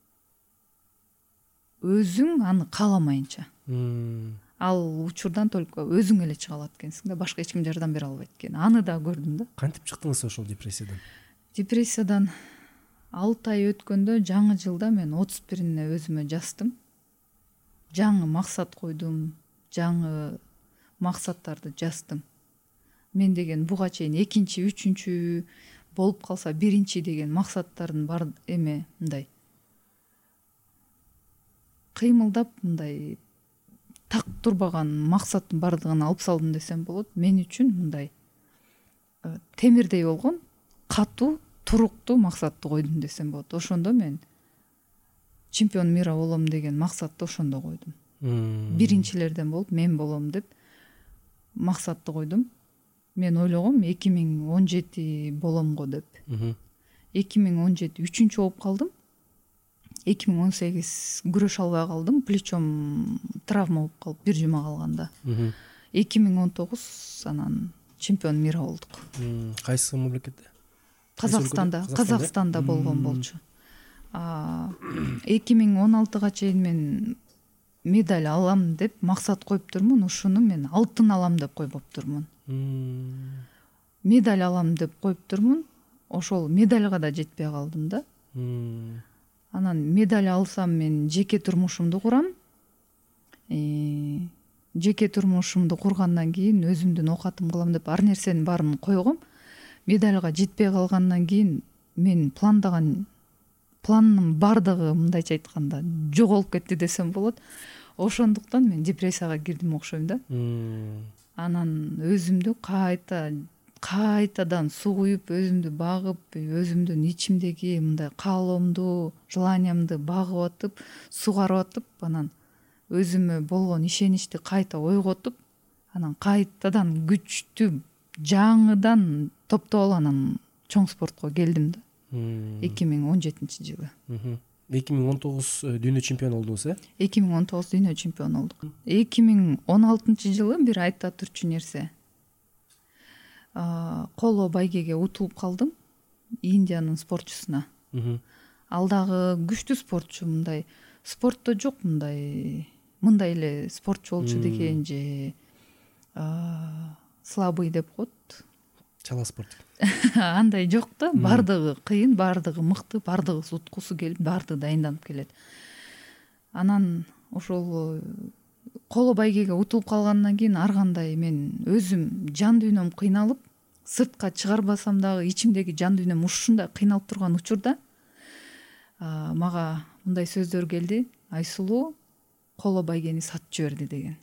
Өзүң аны кааламайынча. Ал учурдан только өзүң эле чыга алат экенсиң да, башка эч ким жардам бере албайт экен. Аны да көрдүм да. Кантип чыктыңыз ошол депрессиядан? Депрессиядан алты ай өткөндө, жаңы жылда мен отуз бирине өзүмө жаздым. Жаңы максат койдум, жаңы максаттарды жаздым. Мен деген буга чейин экинчи, үчүнчү болуп калса биринчи деген максаттардын бар эме мындай кыймылдап, мындай так турбаган максаттын бардыгын алып салдым десем болот. Мен үчүн мындай темирдей болгон катуу, туруктуу максатты койдум десем болот. Ошондо мен чемпион мира болом деген максатты ошондо койдум. Биринчилерден болуп мен болом деп максатты койдум. Мен ойлогом эки миң он жети болом го деп. эки миң он жети үчүнчү болуп калдым. эки миң он сегиз күрөшө албай калдым. Плечом травма болуп калып бир жума калганда. эки миң он тогуз анан чемпион мира болдук. Кайсы мамлекетте? Казакстанда, Казакстанда болгон болчу. эки миң он алтыга чейин мен медаль алам деп максат коюп турмун. Ушуну мен алтын алам деп койбоп турмун. Медаль алам деп коюп турмун. Ошол медальга да жетпей калдым да. Анан медаль алсам мен жеке турмушумду курам. Жеке турмушумду кургандан кийин өзүмдүн оокатым кылам деп ар нерсенин баарын койгом. Медальга жетпей калгандан кийин мен пландаган пландын бардыгы мындайча айтканда жоголуп кетти десем болот. Ошондуктан мен депрессияга кирдим окшойм да. Анан өзүмдү кайта кайтадан сугуюп, өзүмдү багып, өзүмдүн ичимдеги мындай каалоомду, желаниямды багып атып, сугарып атып, анан өзүмө болгон ишеничти кайта ойготуп, анан кайтадан күчтүү жаңыдан топтоп анан чоң спортко келдим да. эки миң он жетинчи жылы. эки миң он тогуз дүйнө чемпиону болдуңуз, э? эки миң он тогуз дүйнө чемпиону болдук. эки миң он алтынчы жылы бир айта турчу нерсе. Коло байгеге утулуп калдым, Индиянын спортчусуна. Ал дагы күчтүү спортчу, мындай спортто жок мындай мындай эле спортчу болчу деген же слабый деп коет. Чала спорт. Андай жок да, бардыгы кыйын, бардыгы мыкты, бардыгы уткусу келип, бардыгы дайынданып келет. Анан ошол коло байгеге утулуп калгандан кийин ар кандай мен өзүм жан дүйнөм кыйналып, сыртка чыгарбасам дагы ичимдеги жан дүйнөм ушундай кыйналып турган учурда мага мындай сөздөр келди: Айсулуу, коло байгени сатып жиберди деген.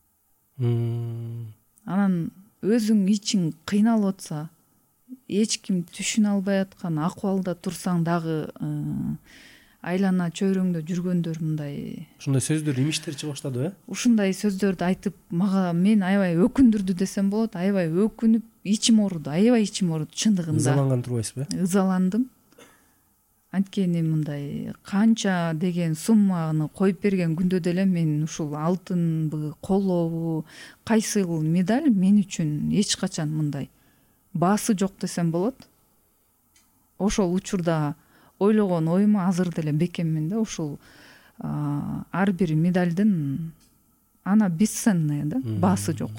Анан өзүң ичиң кыйналып атса, эч ким түшүнө албай аткан акыбалда турсаң дагы айлана чөйрөңдө жүргөндөр мындай ушундай сөздөр имиштер чыга баштады, э? Ушундай сөздөрдү айтып мага мен аябай өкүндүрдү десем болот. Аябай өкүнүп, ичим ооруду, аябай ичим ооруду чындыгында. Ызаланган турбайсызбы? Ызаландым. Анткени мындай канча деген сумманы коюп берген күндө деле мен ушул алтынбы, колобу, кайсыл медаль мен үчүн эч качан мындай баасы жок десем болот. Ошол учурда ойлогон оюма азыр деле бекеммин да. Ушул ар бир медальдын ана бесценная да, баасы жок.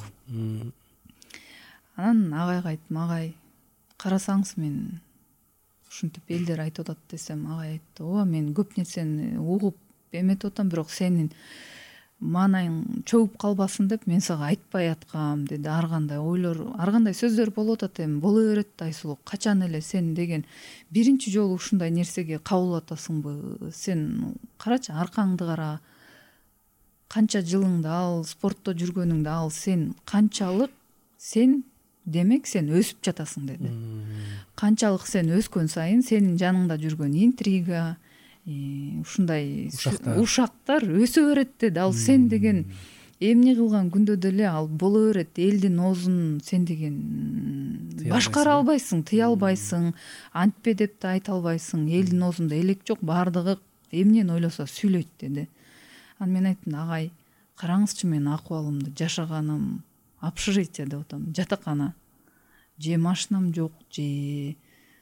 Анан агайга айттым: агай, карасаңыз мен ушинтип элдер айтып атат десем, агай айтты: ооба, мен көп нерсени угуп эметип атам, бирок сенин маанайың чөгүп калбасын деп мен сага айтпай аткам деди. Ар кандай ойлор, ар кандай сөздөр болуп атат, эми боло берет да Айсулуу. Качан эле сен деген биринчи жолу ушундай нерсеге кабыл атасыңбы? Сен карачы, аркаңды кара, канча жылыңды ал, спортто жүргөнүңдү ал, сен канчалык сен демек сен өсүп жатасың деди. Канчалык сен өскөн сайын сенин жаныңда жүргөн интрига, ушундай ушактар өсө берет деди. Ал сен деген эмне кылган күндө деле ал боло берет. Элдин оозун сен деген башкара албайсың, тыя албайсың, антпе деп да айта албайсың. Элдин оозунда элек жок, баардыгы эмнени ойлосо сүйлөйт деди. Анан мен айттым, агай караңызчы, менин акыбалымды, жашаганым общежитие деп атам, жатакана, же машинам жок, же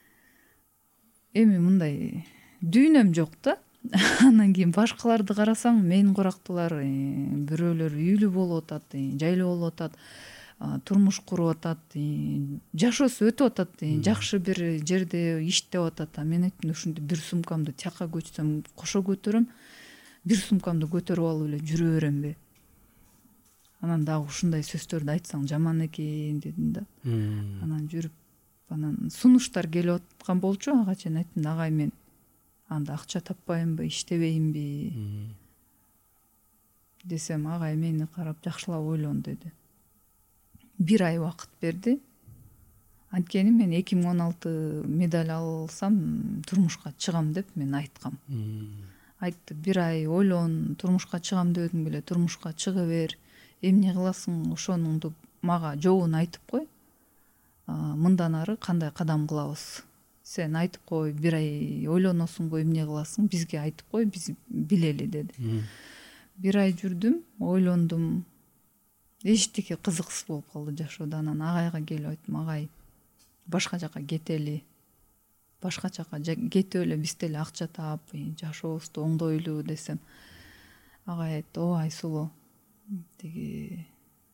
эми мындай дүйнөм жок да. Анан кийин башкаларды карасаң, мен корактылар бирөөлөр үйлүү болуп атат, жайлуу болуп атат, турмуш куруп атат, жашоосу өтүп атат, жакшы бир жерде иштеп атат. А мен айттым, ушинтип бир сумкамды тияка көчсөм кошо көтөрөм, бир сумкамды көтөрүп алып эле жүрө беремби? Анан дагы ушундай сөздөрдү айтсаң жаман экен дедим да. Анан жүрүп, анан сунуштар келип аткан болчу. Ага чейин айттым, агай мен анда акча таппаймынбы, иштебейминби десем, агай мени карап жакшылап ойлон деди. Бир ай убакыт берди. Анткени мен эки миң он алты медаль алсам турмушка чыгам деп мен айткам. Айтты, бир ай ойлон, турмушка чыгам дебедиң беле, турмушка чыга бер, эмне кыласың, ошонуңду мага жообун айтып кой, мындан ары кандай кадам кылабыз. Сен айтып кой, бир ай ойлоносуңбу, эмне кыласың, бизге айтып кой, биз билели деди. Бир ай жүрдүм, ойлондум, эчтеке кызыксыз болуп калды жашоодо. Анан агайга келип айттым, агай башка жака кетели, башка жака кетип эле биз деле акча таап жашообузду оңдойлу десем, агай айтты, о Айсулуу, тиги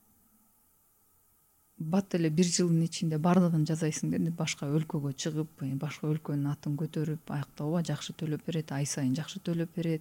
бат эле бир жылдын ичинде бардыгын жасайсың деди. Башка өлкөгө чыгып, башка өлкөнүн атын көтөрүп, аякта ооба жакшы төлөп берет, ай сайын жакшы төлөп берет.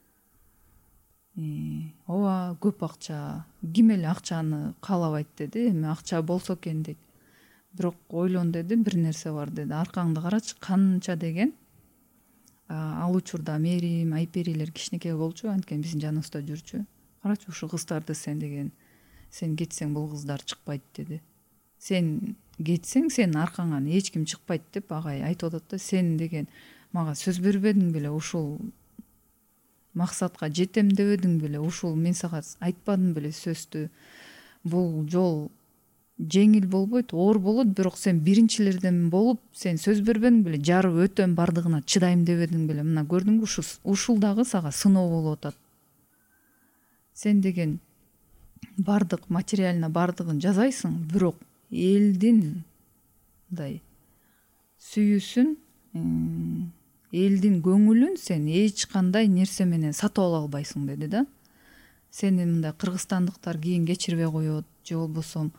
Ооба көп акча, ким эле акчаны каалабайт деди. Эми акча болсо экен дейт. Бирок ойлон деди, бир нерсе бар деди. Аркаңды карачы, канча деген. Ал учурда мээрим, айперилер кичинекей болчу, анткени биздин жаныбызда жүрчү. Карачы ушу кыздарды сен деген, сен кетсең бул кыздар чыкпайт деди. Сен кетсең, сенин аркаңан эч ким чыкпайт деп агай айтып атат да. Сен деген мага сөз бербедиң беле, ушул максатка жетем дебедиң беле, ушул мен сага айтпадым беле сөздү. Бул жол жеңил болбойт, оор болот, бирок сен биринчилерден болуп, сен сөз бербедиң беле, жарып өтөм, бардыгына чыдайм дебедиң беле. Мына көрдүңбү, ушул дагы сага сыноо болуп атат. Сен деген бардык материалына бардыгын жасайсың, бирок элдин мындай сүйүүсүн, элдин көңүлүн сен эч кандай нерсе менен сатып ала албайсың деди да. Сени мындай кыргызстандыктар кийин кечирбей коет, же болбосо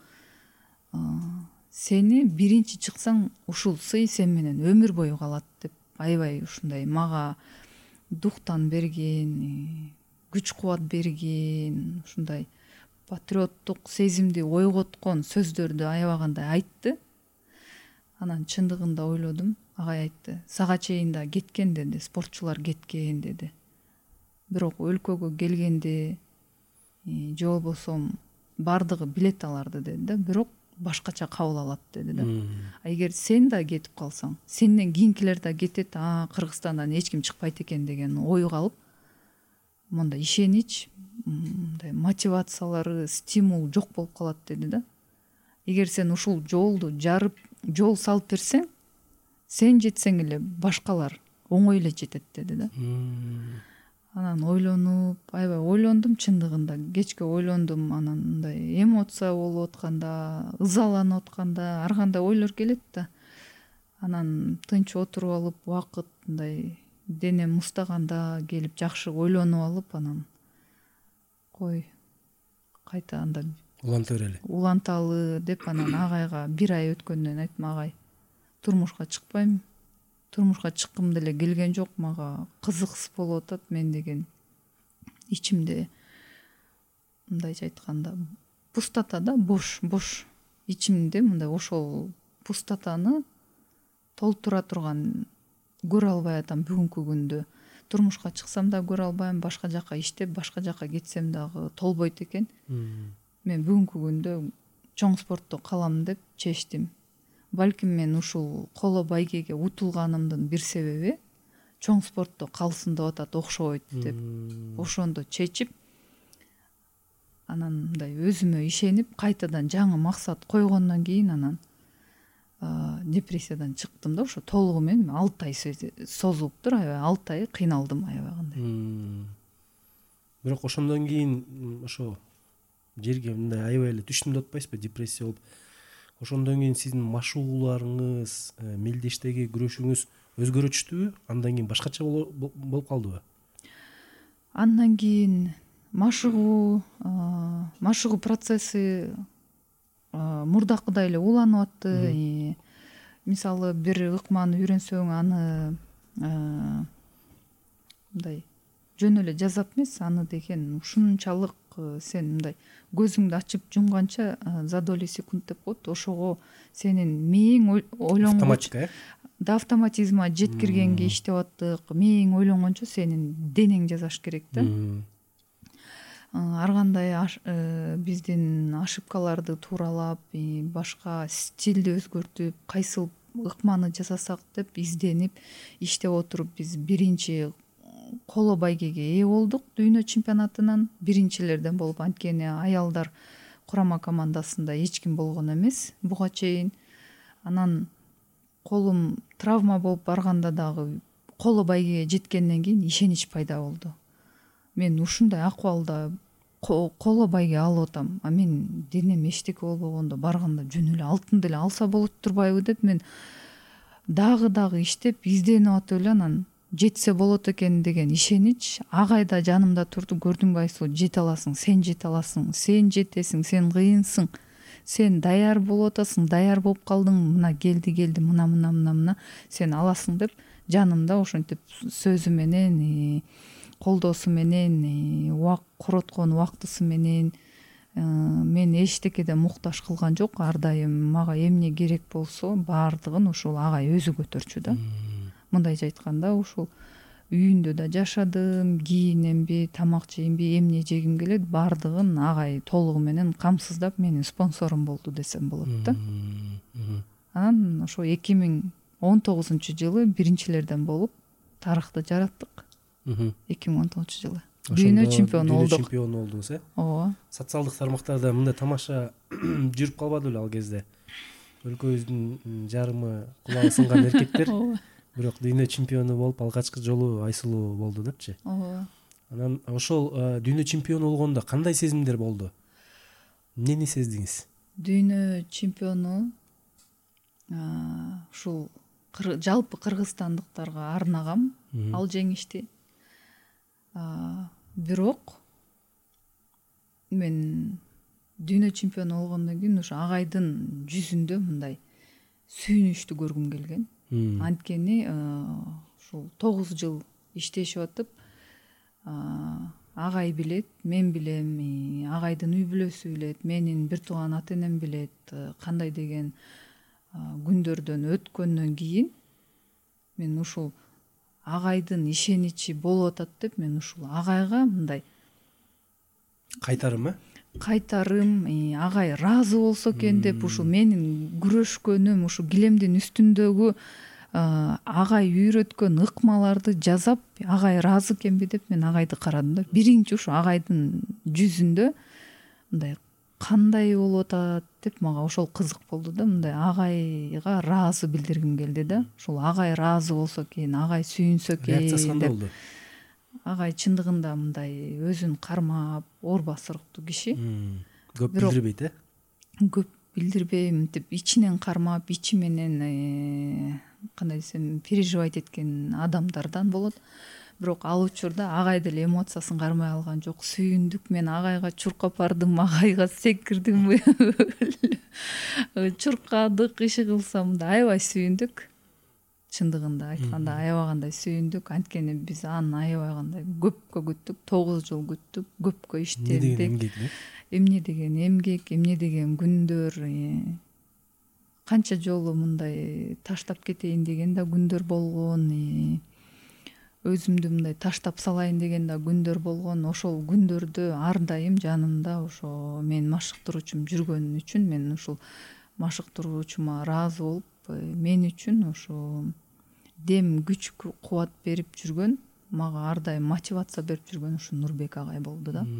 сени биринчи чыксаң ушул сый сен менен өмүр бою калат деп аябай ушундай мага дуктан берген, күч кубат берген, ушундай патриоттук сезимди ойготкон сөздөрдү аябагандай айтты. Анан чындыгында ойлодум, агай айтты, сага чейин да кеткен деди, спортчулар кеткен деди. Бирок өлкөгө келгенде же болбосо бардыгы билет аларды деди да, бирок башкача кабыл алат деди да. А эгер сен да кетип калсаң, сенден кийинкилер да кетет, а Кыргызстандан эч ким чыкпайт экен деген ой калып, монда ишенич, мындай мотивациялары, стимул жок болуп калат деди да. Эгер сен ушул жолду жарып, жол салып берсең, сен жетсең эле башкалар оңой эле жетет деди да. Анан ойлонуп, аябай ойлондум чындыгында, кечке ойлондум, анан мындай эмоция болуп атканда, ызаланып атканда, ар кандай ойлор келет да. Анан тынч отуруп алып, убакыт мындай денем устаганда келип жакшы ойлонуп алып, анан кой кайта анда уланта берели. Уланталы деп анан агайга бир ай өткөндөн айттым, агай турмушка чыкпайм. Турмушка чыккым деле келген жок, мага кызыксыз болуп атат. Мен деген ичимде мындайча айтканда пустота да, бош, бош. Ичимде мындай ошол пустотаны толтура турган көрө албай атам бүгүнкү күндө. Турмушка чыксам да көрө албайм, башка жака иштеп, башка жака кетсем дагы толбойт экен. Мен бүгүнкү күндө чоң спортто калам деп чечтим. Балким мен ушул коло байгеге утулганымдын бир себеби чоң спортто калсын деп атат, окшобойт деп. Ошондо чечип, анан мындай өзүмө ишенип, кайтадан жаңы максат койгондон кийин анан депрессиядан чыктым да, ошо толугу менен алты ай созулуптур, аябай алты ай кыйналдым аябай кандай. Бирок ошондон кийин ошо жерге мындай аябай эле түштүм деп атпайсызбы, депрессия болуп. Ошондон кийин сиздин машыгууларыңыз, мелдештеги күрөшүңүз өзгөрүчтүбү? Андан кийин башкача болуп калдыбы? Андан кийин машыгуу машыгуу процесси мурдакыдай эле уланып атты. Мисалы, бир ыкманы үйрөнсөң, аны мындай жөн эле жасап эмес, аны деген ушунчалык сен мындай көзүңдү ачып жумганча за доли секунд деп коет, ошого сенин мээң ойлонгон автоматика, да автоматизма жеткиргенге иштеп аттык. Мээң ойлонгончо сенин денең жасаш керек да. Ар кандай биздин ошибкаларды тууралап, башка стилди өзгөртүп, кайсыл ыкманы жасасак деп изденип иштеп отуруп, биз биринчи коло байгеге ээ болдук дүйнө чемпионатынан, биринчилерден болуп. Анткени аялдар курама командасында эч ким болгон эмес буга чейин. Анан колум травма болуп барганда дагы коло байгеге жеткенден кийин ишенич пайда болду. Мен ушундай акыбалда коло байге алып атам, а мен денем эчтеке болбогондо барганда жөн эле алтын деле алса болот турбайбы деп мен дагы дагы иштеп изденип атып эле анан жетсе болот экен деген ишенич ак айда жанымда турду. Көрдүңбү Айсулу, жете аласың, сен жете аласың, сен жетесиң, сен кыйынсың, сен даяр болуп атасың, даяр болуп калдың, мына келди келди мына мына мына мына сен аласың деп жанымда ошентип сөзү менен, колдоосу менен, убак короткон убактысы менен мен эчтекеден муктаж кылган жок. Ар дайым мага эмне керек болсо баардыгын ушул агай өзү көтөрчү да. Мындайча айтканда, ушул үйүндө да жашадым, кийинемби, тамак жейимби, эмне жегим келет, баардыгын агай толугу менен камсыздап менин спонсорум болду десем болот да. Анан ошо эки миң он тогузунчу жылы биринчилерден болуп тарыхты жараттык. эки миң он тогузунчу жылы дүйнө чемпиону болдук. Дүйнө чемпиону болдуңуз, э? Ооба. Социалдык тармактарда мындай тамаша жүрүп калбады беле ал кезде? Өлкөбүздүн жарымы кулагы сынган эркектер бирок дүйнө чемпиону болуп алгачкы жолу Айсулуу болду депчи. Ооба. Анан ошол дүйнө чемпиону болгондо кандай сезимдер болду? Эмнени сездиңиз? Дүйнө чемпиону ушул жалпы кыргызстандыктарга арнагам ал жеңишти. Бирок мен дүйнө чемпиону болгондон кийин ушу агайдын жүзүндө мындай сүйүнүчтү көргүм келген. Анткени ушул тогуз жыл иштешип атып, агай билет, мен билем, агайдын үй бүлөсү билет, менин бир тууган ата энем билет кандай деген күндөрдөн өткөндөн кийин мен ушул агайдын ишеничи болуп атат деп мен ушул агайга мындай кайтарым, э? Кайтарым, агай ыраазы болсо экен деп, ушул менин күрөшкөнүм, ушу килемдин үстүндөгү агай үйрөткөн ыкмаларды жазап, агай ыраазы экенби деп мен агайды карадым да. Биринчи ушу агайдын жүзүндө мындай кандай болуп атат деп мага ошол кызык болду да. Мындай агайга ыраазы билдиргим келди да. Ушул агай ыраазы болсо экен, агай сүйүнсө экен. Реакциясы кандай болду? Агай чындыгында мындай өзүн кармап, оор басыруктуу киши. Көп билдирбейт, э? Көп билдирбей, мынтип ичинен кармап, ичи менен кандай десем, переживать эткен адамдардан болот. Бирок ал учурда агай деле эмоциясын кармай алган жок. Сүйүндүк, мен агайга чуркап бардым, агайга секирдим, чуркадык, иши кылсам да аябай сүйүндүк. Чындыгында айтканда аябай кандай сүйүндүк. Анткени биз аны аябай кандай көпкө күттүк, тогуз жыл күттүк, көпкө иштедик. Эмне деген эмгек, эмне деген күндөр, канча жолу мындай таштап кетейин деген да күндөр болгон, өзүмдү мындай таштап салайын деген да күндөр болгон. Ошол күндөрдө ар дайым жанымда ошо мен машыктыруучум жүргөн үчүн мен ушул машыктыруучума ыраазы болуп, мен үчүн ошо дем, күч, кубат берип жүргөн, мага ар дайым мотивация берип жүргөн ушу Нурбек агай болду да.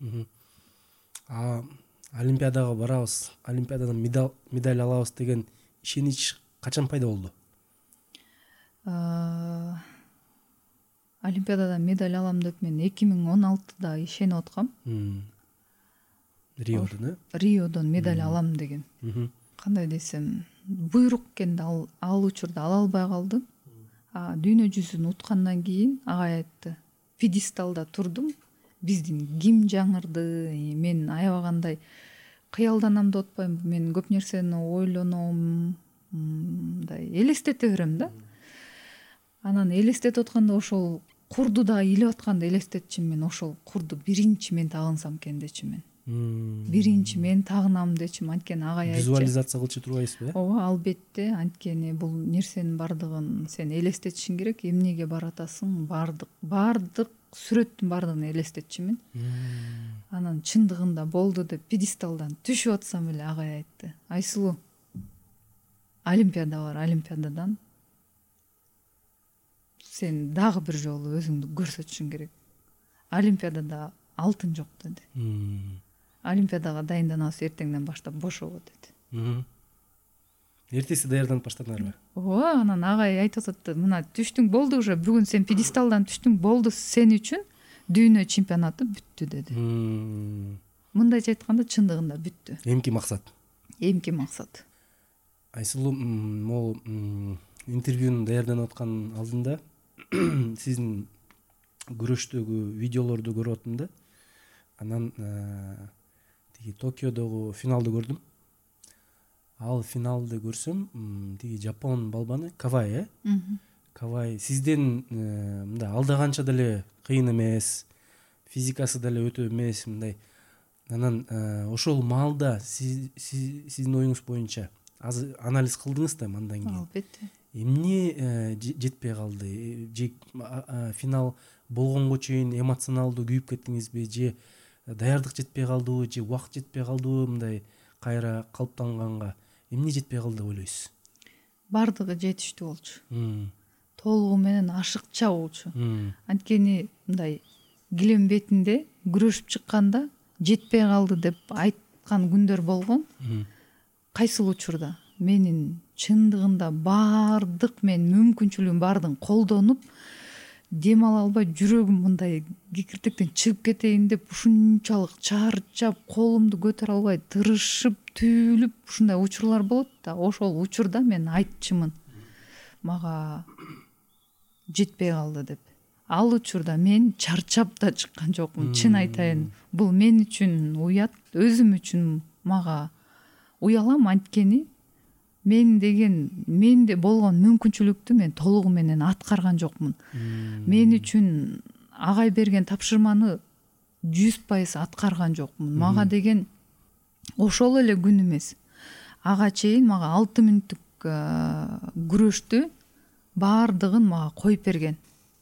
Олимпиадага барабыз, олимпиададан медаль алабыз деген ишенич качан пайда болду? Олимпиададан медаль алам деп мен эки миң он алтыда ишенип аткам. Риодон э? Риодон медаль алам деген. Кандай десем, буйрук экенди ал ал учурда ала албай калдым. А дүйнө жүзүн уткандан кийин агай айтты. Пьедесталда турдум. Биздин ким жаңырды? Мен аябагандай кыялданам деп атпайм. Мен көп нерсени ойлоном, мындай элестете берем да. Анан элестетип атканда ошол курду да илип атканда элестетчим, мен ошол курду биринчи мен тагынсам экен дечим мен. Биринчи мен тагынам дечим, анткени агай айтчу. Визуализация кылчу турбайсызбы? Ооба, албетте, анткени бул нерсенин бардыгын сен элестетишиң керек. Эмнеге баратасың? Бардык, бардык сүрөттүн бардыгын элестетчимин. Анан чындыгында болду деп пьедесталдан түшүп атсам эле агай айтты. Айсулуу, Олимпиада бар, Олимпиададан сен дагы бир жолу өзүңдү көрсөтүшүң керек. Олимпиадада алтын жок деди. Олимпиадага дайынданабыз, эртеңден баштап бошобо деди. Эртеси даярданып баштадыңарбы? Ооба, анан агай айтып атты, мына түштүң, болду уже, бүгүн сен пьедесталдан түштүң, болду, сен үчүн дүйнө чемпионаты бүттү деди. Мындайча айтканда чындыгында бүттү. Эмки максат? Эмки максат. Айсулуу, могу интервьюну даярданып аткан алдында сиздин күрөштөгү видеолорду көрүп аттым да. Анан тиги Токиодогу финалды көрдүм. Ал финалды көрсөм, тиги Жапон балбаны Кавай, э? Кавай сизден мындай алдаганча деле кыйын эмес, физикасы деле өтө эмес, мындай. Анан ошол маалда сиздин оюңуз боюнча аз анализ кылдыңыз да андан кийин. Албетте. Эмне жетпей калды? Же финал болгонго чейин эмоционалдуу күйүп кеттиңизби, же даярдык жетпей калдыбы, же убакыт жетпей калдыбы, мындай кайра калыптанганга эмне жетпей калды деп ойлойсуз? Бардыгы жетиштүү болчу. Толугу менен ашыкча болчу. Анткени мындай килем бетинде күрөшүп чыкканда жетпей калды деп айткан күндөр болгон. Кайсыл учурда менин чындыгында бардык мен мүмкүнчүлүгүм бардын колдонуп, дем ала албай, жүрөгүм мындай кикиртектен чыгып кетейин деп ушунчалык чарчап, колумду көтөрө албай, тырышып, түйүлүп, ушундай учурлар болот да. Ошол учурда мен айтчымын, мага жетпей калды деп. Ал учурда мен чарчап да чыккан жокмун, чын айтайын. Бул мен үчүн уят, өзүм үчүн мага уялам, анткени мен деген, менде болгон мүмкүнчүлүктү мен толугу менен аткарган жокмун. Мен үчүн агай берген тапшырманы жүз пайыз аткарган жокмун. Мага деген ошол эле күн эмес, ага чейин мага алты мүнөттүк күрөштү бардыгын мага коюп берген.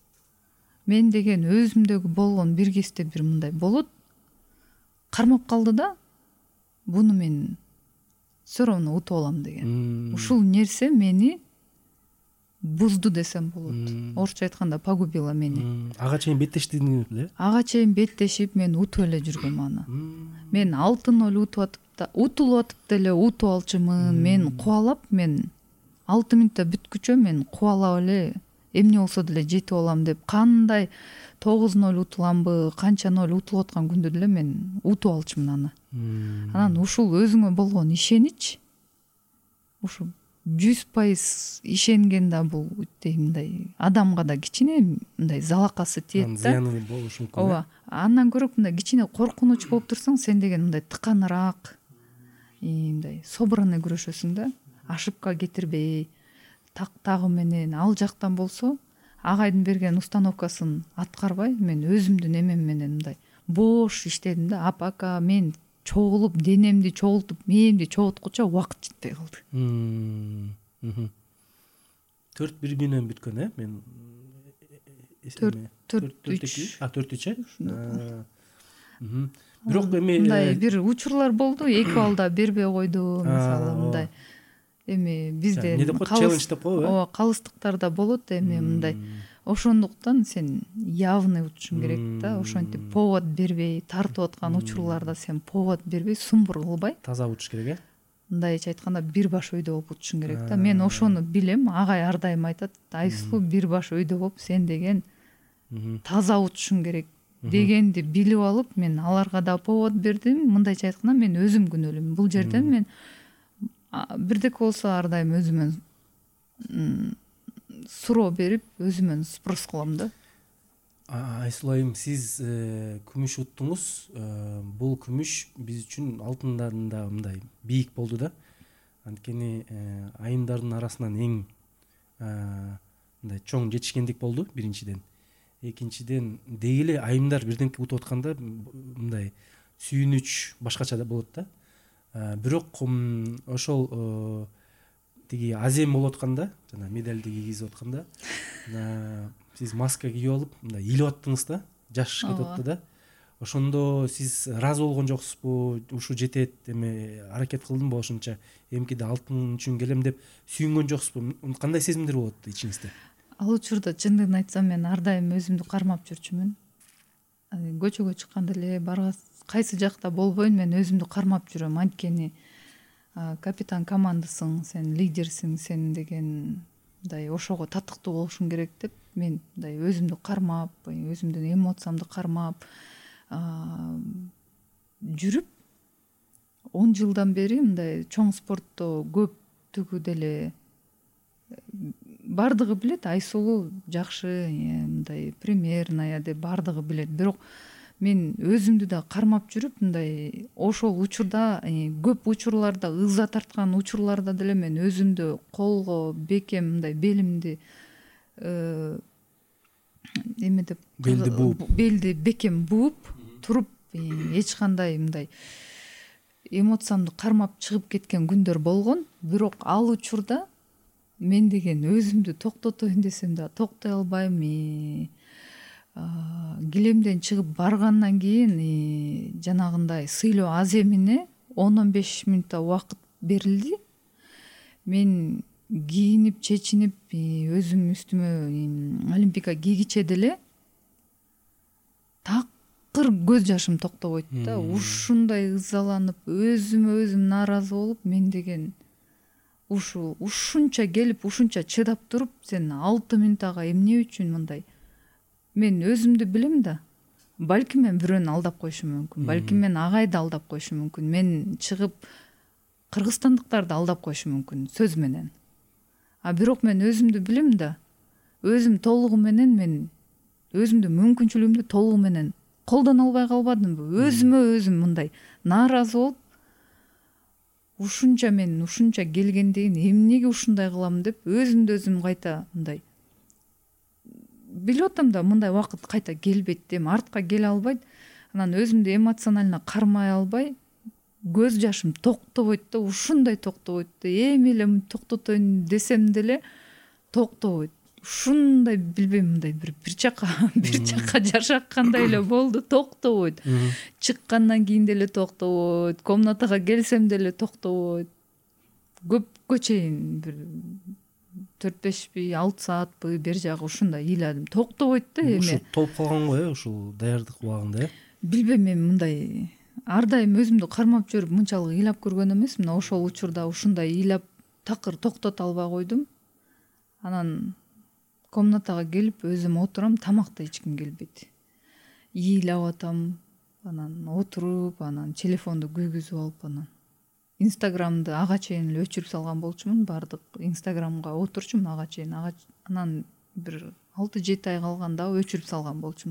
Мен деген өзүмдөгү болгон бир кезде бир мындай болот, кармап калды да, буну мен все равно утуп алам деген. Ушул нерсе мени бузду десем болот. Орусча айтканда погубила мени. Ага чейин беттештиңиз беле? Ага чейин беттешип мен утуп эле жүргөм аны. Мен алтын эле утуп атып да, утулуп атып деле утуп алчумун. Мен кубалап, мен алты мүнөттө бүткүчө мен кубалап эле эмне болсо деле жетип алам деп, кандай тогуз ноль утуламбы, канча ноль утулуп аткан күндө деле мен утуп алчумун аны. Анан ушул өзүңө болгон ишенич, ушу жүз пайыз ишенген да, бул өтө мындай адамга да кичине мындай залакасы тиет да. Зыяны болушу мүмкүн. Ооба, андан көрө мындай кичине коркунуч болуп турсаң, сен деген мындай тыканыраак, мындай собранный күрөшөсүң да, ошибка кетирбей, тактагы менен. Ал жактан болсо, агайдын берген установкасын аткарбай, мен өзүмдүн эмем менен мындай бош иштедим да. Апака мен чогулуп, денемди чогултуп, мээмди чогулткуча убакыт жетпей калды. төрт бир менен бүткөн, э? Мен төрт үч. А, төрт үч, э? Бирок эми мындай бир учурлар болду, эки балда бербей койду, мисалы мындай. Эми бизде челлендж деп коебу, э? Ооба, калыстыктарда болот эми мындай. Ошондуктан сен явный утушуң керек да, ошентип повод бербей, тартып аткан учурларда сен повод бербей, сумбур кылбай таза утуш керек, э? мындайча айтканда бир баш өйдө болуп учушуң керек да. Мен ошону билем, агай ар дайым айтат, Айсулуу бир баш өйдө болуп сен деген таза учушуң керек дегенди билип алып, мен аларга да повод бердим. Мындайча айтканда мен өзүм күнөөлүүмүн. Бул жерден мен бирдеке болсо ар дайым өзүмөн суроо берип, өзүмөн спрос кылам да. Айсулуу айым, сиз күмүш уттуңуз. Бул күмүш биз үчүн алтындан да мындай бийик болду да. Анткени айымдардын арасынан эң мындай чоң жетишкендик болду биринчиден. Экинчиден, деги айымдар бирдемке утуп атканда мындай сүйүнүч башкача да болот да. Бирок ошол тиги азем болуп атканда, жана медальды кийгизип атканда, сиз маска кийип алып, мындай илип аттыңыз да, жаш кетип атты да. Ошондо сиз ыраазы болгон жоксузбу? Ушу жетет, эме аракет кылдым бу ошонча, эмкиде алтын үчүн келем деп сүйүнгөн жоксузбу? Кандай сезимдер болот ичиңизде? Ал учурда чындыгын айтсам, мен ар дайым өзүмдү кармап жүрчүмүн. Көчөгө чыкканда эле, баргас кайсы жакта болбойн, мен өзүмдү кармап жүрөм. Анткени капитан командасың, сен лидерсиң, сен деген мындай ошого татыктуу болушуң керек деп мен мындай өзүмдү кармап, өзүмдүн эмоциямды кармап жүрүп, он жылдан бери мындай чоң спортто көптүгү деле бардыгы билет, Айсулуу жакшы, мындай примерная деп бардыгы билет. Бирок мен өзүмдү да кармап жүрүп, мындай ошол учурда, көп учурларда, ыза тарткан учурларда деле мен өзүмдү колго бекем мындай белимди эме деп, белди бууп, белди бекем бууп туруп, эч кандай мындай эмоциямды кармап чыгып кеткен күндөр болгон. Бирок ал учурда мен деген өзүмдү токтотоюн десем да токтой албайм. Килемден чыгып баргандан кийин жанагындай сыйлоо аземине он он беш мүнөттө убакыт берилди. Мен кийинип, чечинип, өзүм үстүмө олимпика кийгиче деле такыр көз жашым токтобойт да. Ушундай ызаланып, өзүмө өзүм нааразы болуп, мен деген ушу ушунча келип, ушунча чыдап туруп, сен алты мүнөт ага эмне үчүн мындай? Мен өзүмдү билем да. Балким мен бирөөнү алдап коюшум мүмкүн. Балким мен агайды алдап коюшум мүмкүн. Мен чыгып кыргызстандыктарды алдап коюшум мүмкүн сөз менен. А бирок мен өзүмдү билем да. Өзүм толугу менен мен өзүмдүн мүмкүнчүлүгүмдү толугу менен колдоно албай калбадымбы? Өзүмө өзүм мындай нааразы болуп, ушунча мен ушунча келгенден эмнеге ушундай кылам деп өзүмдү өзүм кайта мындай билип атам да, мындай убакыт кайта келбейт деп, артка келе албайт. Анан өзүмдү эмоционально кармай албай, көз жашым токтобойт да, ушундай токтобойт да. Эми эле токтотоюн десем деле токтобойт. Ушундай билбейм, мындай бир бир жака бир жака жашаккандай эле болду, токтобойт. Чыккандан кийин деле токтобойт, комнатага келсем деле токтобойт. Көпкө чейин бир төрт бешпи, алты саатпы бер жагы ушундай ыйладым. Токтобойт да эми. Ушу толуп калган го э, ушул даярдык убагында э. Билбейм, мен мындай ар дайым өзүмдү кармап жүрүп мынчалык ыйлап көргөн эмесмин. Ошол учурда ушундай ыйлап такыр токтото албай койдум. Анан комнатага келип өзүм отурам, тамакта эч ким келбейт. Ыйлап атам, анан отуруп, анан телефонду күйгүзүп алып, анан Инстаграмды ага чейин эле өчүрүп салган болчумун. Бардык Инстаграмга отурчумун ага чейин. Анан бир алты жети ай калганда өчүрүп салган болчумун.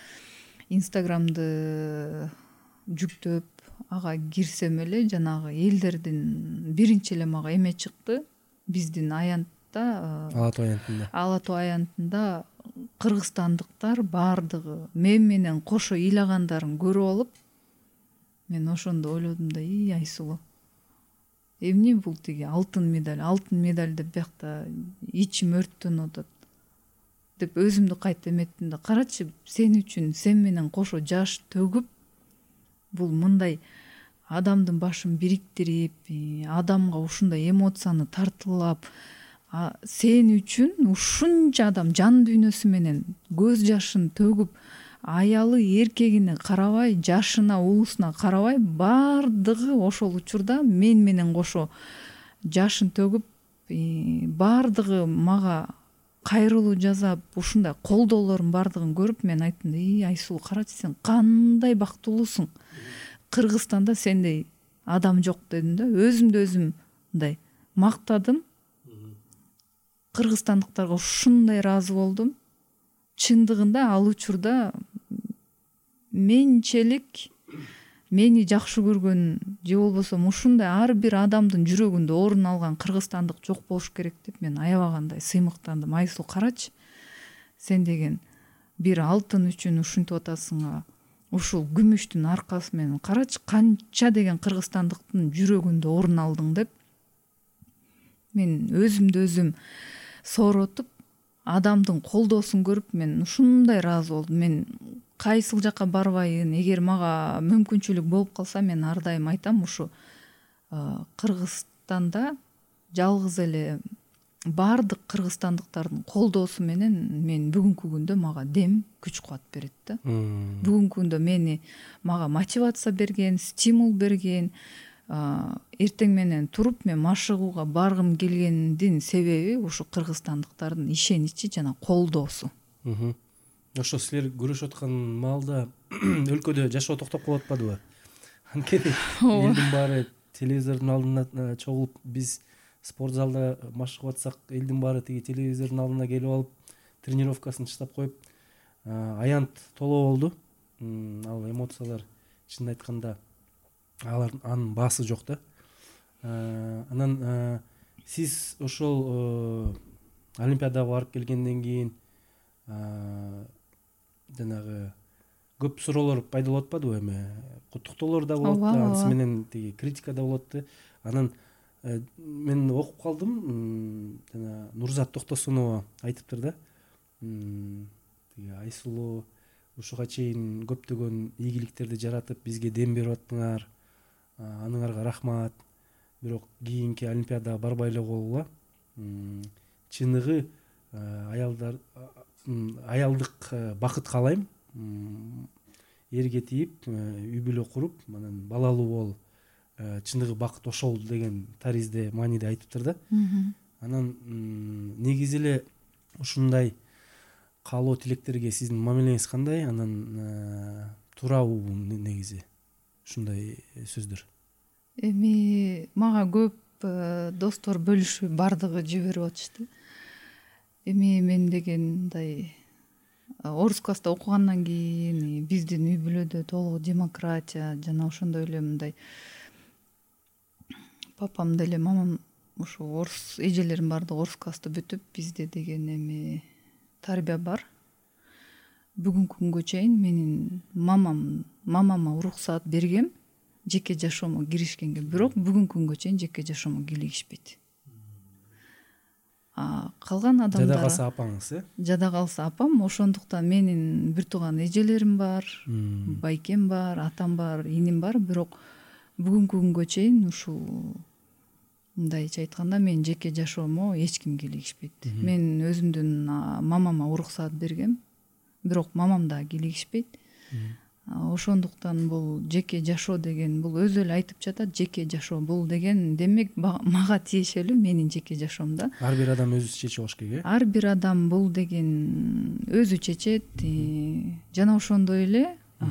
Инстаграмды жүктөп, ага кирсем эле жанагы элдердин биринчи эле мага эме чыкты. Биздин аянтта, Ала Тоо аянтында. Ала Тоо аянтында кыргызстандыктар бардыгы мен менен кошо ыйлагандарын көрүп алып, мен ошондо ойлодум да, и Айсулуу, эмне бул тиги алтын медаль, алтын медаль деп биякта ичим өрттөнүп атат деп өзүмдү кайта эметтим да. Карачы, сен үчүн сен менен кошо жаш төгүп, бул мындай адамдын башын бириктирип, адамга ушундай эмоцияны тартуулап, сен үчүн ушунча адам жан дүйнөсү менен көз жашын төгүп, аялы эркегине карабай, жашына, улусуна карабай баардыгы ошол учурда мен менен кошо жашын төгүп, баардыгы мага кайрылуу жасап, ушундай колдоолордун баардыгын көрүп мен айттым: "Ий, Айсулуу, карачы, сен кандай бактылуусуң. Кыргызстанда сендей адам жок" дедим да. Өзүмдү өзүм мындай мактадым. Кыргызстандыктарга ушундай ыраазы болдум. Чындыгында ал учурда менчелик мени жакшы көргөн же болбосо ушундай ар бир адамдын жүрөгүндө орун алган кыргызстандык жок болуш керек деп мен аябагандай сыймыктандым. Айсулуу, карачы, сен деген бир алтын үчүн ушинтип атасың, ушул күмүштүн аркасы менен карачы канча деген кыргызстандыктын жүрөгүндө орун алдың деп мен өзүмдү өзүм сооротуп, адамдын колдоосун көрүп мен ушундай ыраазы болдум. Мен кайсыл жака барбайын, эгер мага мүмкүнчүлүк болуп калса, мен ар дайым айтам, ушу Кыргызстанда жалгыз эле баардык кыргызстандыктардын колдоосу менен мен бүгүнкү күндө мага дем, күч кубат берет да. Бүгүнкү күндө мени мага мотивация берген, стимул берген, эртең менен туруп мен машыгууга баргым келгендин себеби ушу кыргызстандыктардын ишеничи жана колдоосу. Ошо силер күрөшүп аткан маалда өлкөдө жашоо токтоп калып атпадыбы? Анткени элдин баары телевизордун алдына чогулуп, биз спорт залда машыгып атсак, элдин баары тиги телевизордун алдына келип алып, тренировкасын таштап коюп, аянт толо болду. Ал эмоциялар, чынын айтканда, алар анын баасы жок да. Анан сиз ошол Олимпиадага барып келгенден кийин жанагы көп суроолор пайда болуп атпадыбы? Эми куттуктоолор да болот, анысы менен тиги критика да болот да. Анан мен окуп калдым, жана Нурзат Токтосунова айтыптыр да. Тиги Айсулуу ушуга чейин көптөгөн ийгиликтерди жаратып, бизге дем берип аттыңар. Аныңарга рахмат. Бирок кийинки Олимпиадага барбай эле койгула. Чыныгы аялдар аялдык бакыт каалайм. Эрге тийип, үй бүлө куруп, анан балалуу бол, чыныгы бакыт ошол деген таризде, мааниде айтыптыр да. Анан негизи эле ушундай каалоо тилектерге сиздин мамилеңиз кандай? Анан туурабы негизи ушундай сөздөр? Эми мага көп достор бөлүшүп, бардыгы жиберип атышты. Эми мен деген мындай орус класста окугандан кийин биздин үй бүлөдө толугу демократия жана ошондой эле мындай папам деле мамам ушу орус, эжелерим бардыгы орус класста бүтүп, бизде деген эми тарбия бар. Бүгүнкү күнгө чейин менин мамам мамама уруксаат бергем жеке жашоомо киришкенге, бирок бүгүнкү күнгө чейин жеке жашоомо кийлигишпейт. Калган адамдар жада калса апаңыз, э? Жада калса апам, ошондуктан менин бир тууган эжелерим бар, байкем бар, атам бар, иним бар, бирок бүгүнкү күнгө чейин ушул мындайча айтканда мен жеке жашоомо эч ким кийлигишпейт. Мен өзүмдүн мамама уруксаат бергем, бирок мамам да кийлигишпейт. Ошондуктан бул жеке жашоо деген, бул өзү эле айтып жатат, жеке жашоо бул деген демек мага тиешелүү, менин жеке жашоом да. Ар бир адам өзү чечип алыш керек, э? Ар бир адам бул деген өзү чечет. Жана ошондой эле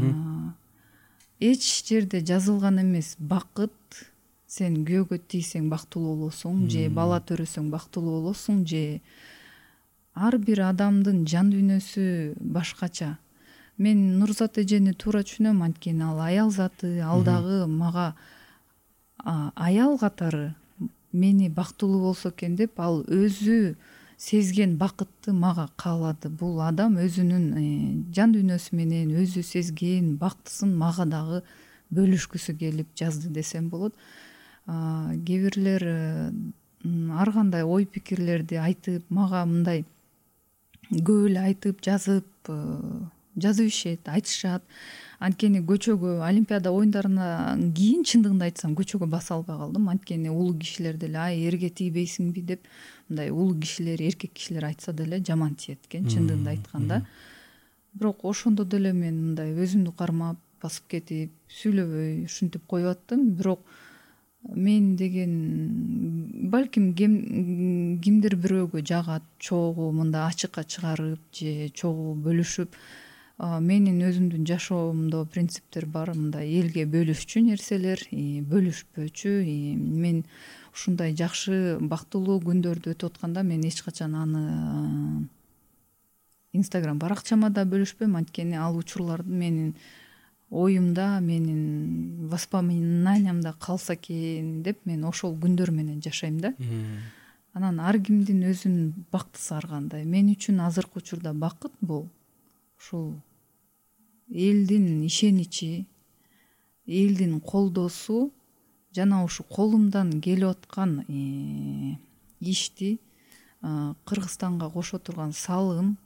эч жерде жазылган эмес бакыт, сен күйөөгө тийсең бактылуу болосуң, же бала төрөсөң бактылуу болосуң, же ар бир адамдын жан дүйнөсү башкача. Мен Нурзат эжени туура түшүнөм, анткени ал аял заты, ал дагы мага аял катары мени бактылуу болсо экен деп, ал өзү сезген бакытты мага каалады. Бул адам өзүнүн жан дүйнөсү менен өзү сезген бактысын мага дагы бөлүшкүсү келип жазды десем болот. Кээ бирлер ар кандай ой пикирлерди айтып, мага мындай көп эле айтып, жазып жазып ишет, айтышат. Анткени көчөгө, Олимпиада оюндарынан кийин чындыгында айтсам көчөгө баса албай калдым. Анткени улуу кишилер деле ай эрге тийбейсиңби деп, мындай улуу кишилер, эркек кишилер айтса деле жаман тиет экен, чындыгында айтканда. бирок ошондо деле мен мындай өзүмдү кармап басып кетип сүйлөбөй ушинтип коюп аттым. Бирок мен деген балким кимдир бирөөгө жагат, чогуу мындай ачыкка чыгарып же чогуу бөлүшүп. Менин өзүмдүн жашоомдо принциптер бар, мындай элге бөлүшчү нерселер, бөлүшпөчү. Мен ушундай жакшы бактылуу күндөрдү өтүп атканда мен эч качан аны Instagram баракчама да бөлүшпөйм, анткени ал учурлар менин оюмда, менин воспоминаниямда калса экен деп мен ошол күндөр менен жашайм да. Анан ар кимдин өзүнүн бактысы ар кандай. Мен үчүн азыркы учурда бакыт бул ушул элдин ишеничи, элдин колдоосу жана ушу колумдан келип аткан ишти Кыргызстанга кошо турган салым,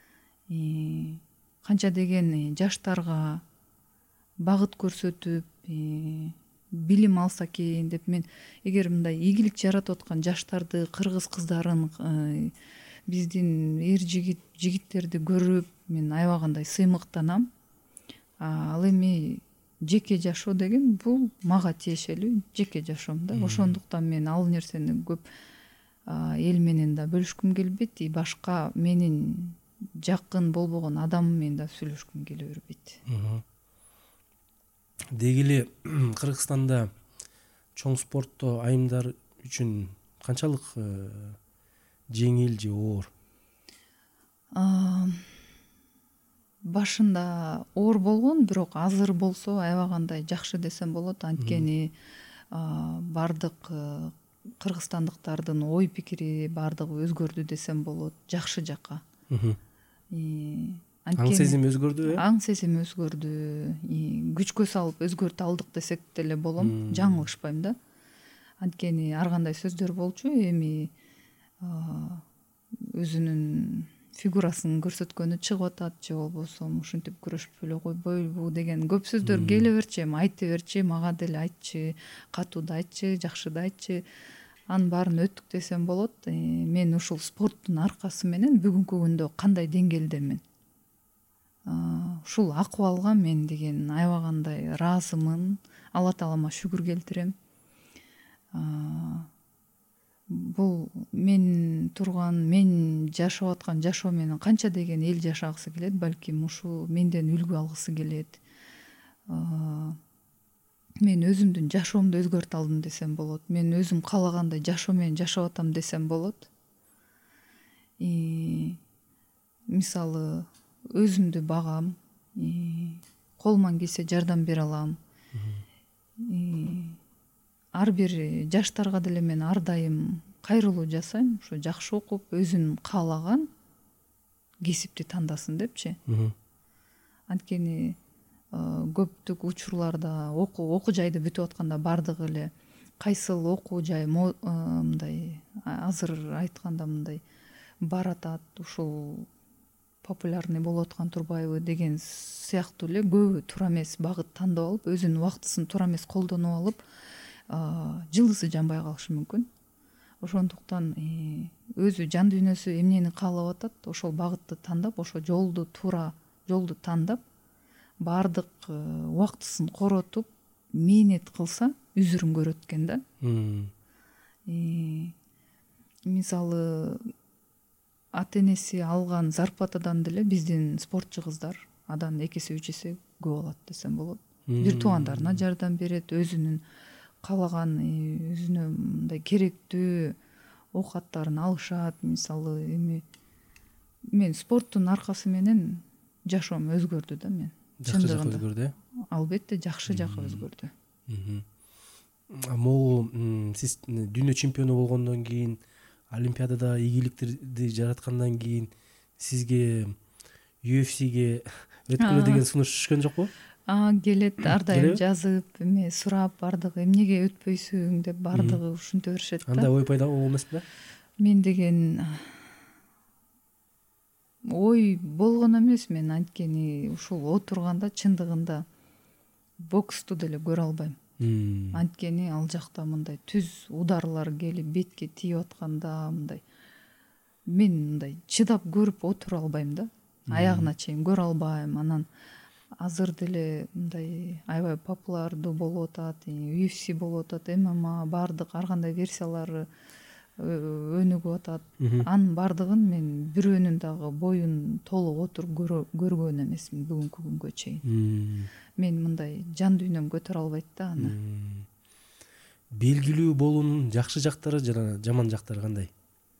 канча деген жаштарга багыт көрсөтүп билим алса экен деп мен эгер мындай ийгилик жаратып аткан жаштарды, кыргыз кыздарын, биздин эр жигит жигиттерди көрүп мен аябагандай сыймыктанам. Ал эми жеке жашоо деген бул мага тиешелүү жеке жашоом да. Ошондуктан мен ал нерсени көп эл менен да бөлүшкүм келбейт, и башка менин жакын болбогон адам менен да сүйлөшкүм келе бербейт. Деги эле Кыргызстанда чоң спортто айымдар үчүн канчалык жеңил же оор? Башында оор болгон, бирок азыр болсо аябагандай жакшы десем болот. Анткени бардык кыргызстандыктардын ой пикири бардыгы өзгөрдү десем болот, жакшы жакка. Аң сезим өзгөрдү, э? Аң сезим өзгөрдү. Күчкө салып өзгөртө алдык десек деле болом. Жаңылышпайм да. Анткени ар кандай сөздөр болчу, эми өзүнүн фигурасын көрсөткөнү чыгып атат, же болбосо ушинтип күрөшүп эле койбойбу деген көп сөздөр келе берчи, эми айта берчи, мага деле айтчы, катууду айтчы, жакшыды айтчы. Анын баарын өттүк десем болот. Мен ушул спорттун аркасы менен бүгүнкү күндө кандай деңгээлдемин? Ушул акыбалга мен деген аябагандай ыраазымын. Алла таалама шүгүр келтирем. Бул мен турган, мен жашап аткан жашоо менен канча деген эл жашагысы келет, балким ушу менден үлгү алгысы келет. Мен өзүмдүн жашоомду өзгөртө алдым десем болот. Мен өзүм каалагандай жашоо менен жашап атам десем болот. Мисалы, өзүмдү багам, колуман келсе жардам бере алам. Ар бир жаштарга деле мен ар дайым кайрылуу жасайм, ушу жакшы окуп, өзүн каалаган кесипти тандасын депчи. Анткени көптүк учурларда окуу окуу жайды бүтүп атканда бардыгы эле кайсыл окуу жай мындай азыр айтканда мындай баратат, ушул популярный болуп аткан турбайбы деген сыяктуу эле көбү туура эмес багыт тандап алып, өзүнүн убактысын туура эмес колдонуп алып, жылдызы жанбай калышы мүмкүн. Ошондуктан өзү жан дүйнөсү эмнени каалап атат, ошол багытты тандап, ошол жолду туура жолду тандап, бардык убактысын коротуп, мээнет кылса үзүрүн көрөт экен да. Мисалы, ата энеси алган зарплатадан деле биздин спортчу кыздар адан эки эсе үч эсе көп алат десем болот. Бир туугандарына жардам берет, өзүнүн каалаган, өзүнө мындай керектүү оокаттарын алышат. Мисалы, эми мен спорттун аркасы менен жашоом өзгөрдү да. Мен жакшы жакка өзгөрдү. Албетте жакшы жакка өзгөрдү. Могу сиз дүйнө чемпиону болгондон кийин, олимпиадада ийгиликтерди жараткандан кийин сизге ю эф сиге өткүлө деген сунуш түшкөн жокпу? Келет, ар дайым жазып, эме сурап, бардыгы эмнеге өтпөйсүң деп бардыгы ушинте беришет да. Андай ой пайда болмок эмеспи? Мен деген ой болгон эмес, мен анткени ушул отурганда чындыгында боксту деле көрө албайм. Анткени ал жакта мындай түз ударлар келип бетке тийип атканда мындай мен мындай чыдап көрүп отура албайм да. аягына чейин көрө албайм. Анан азыр деле мындай аябай популярдуу болуп атат, ю эф си болуп атат, эм эм а, баардык ар кандай версиялары өнүгүп атат. Анын баардыгын мен бирөөнүн дагы боюн толук отуруп көргөн эмесмин бүгүнкү күнгө чейин. Мен мындай жан дүйнөм көтөрө албайт да аны. Белгилүү болуунун жакшы жактары жана жаман жактары кандай?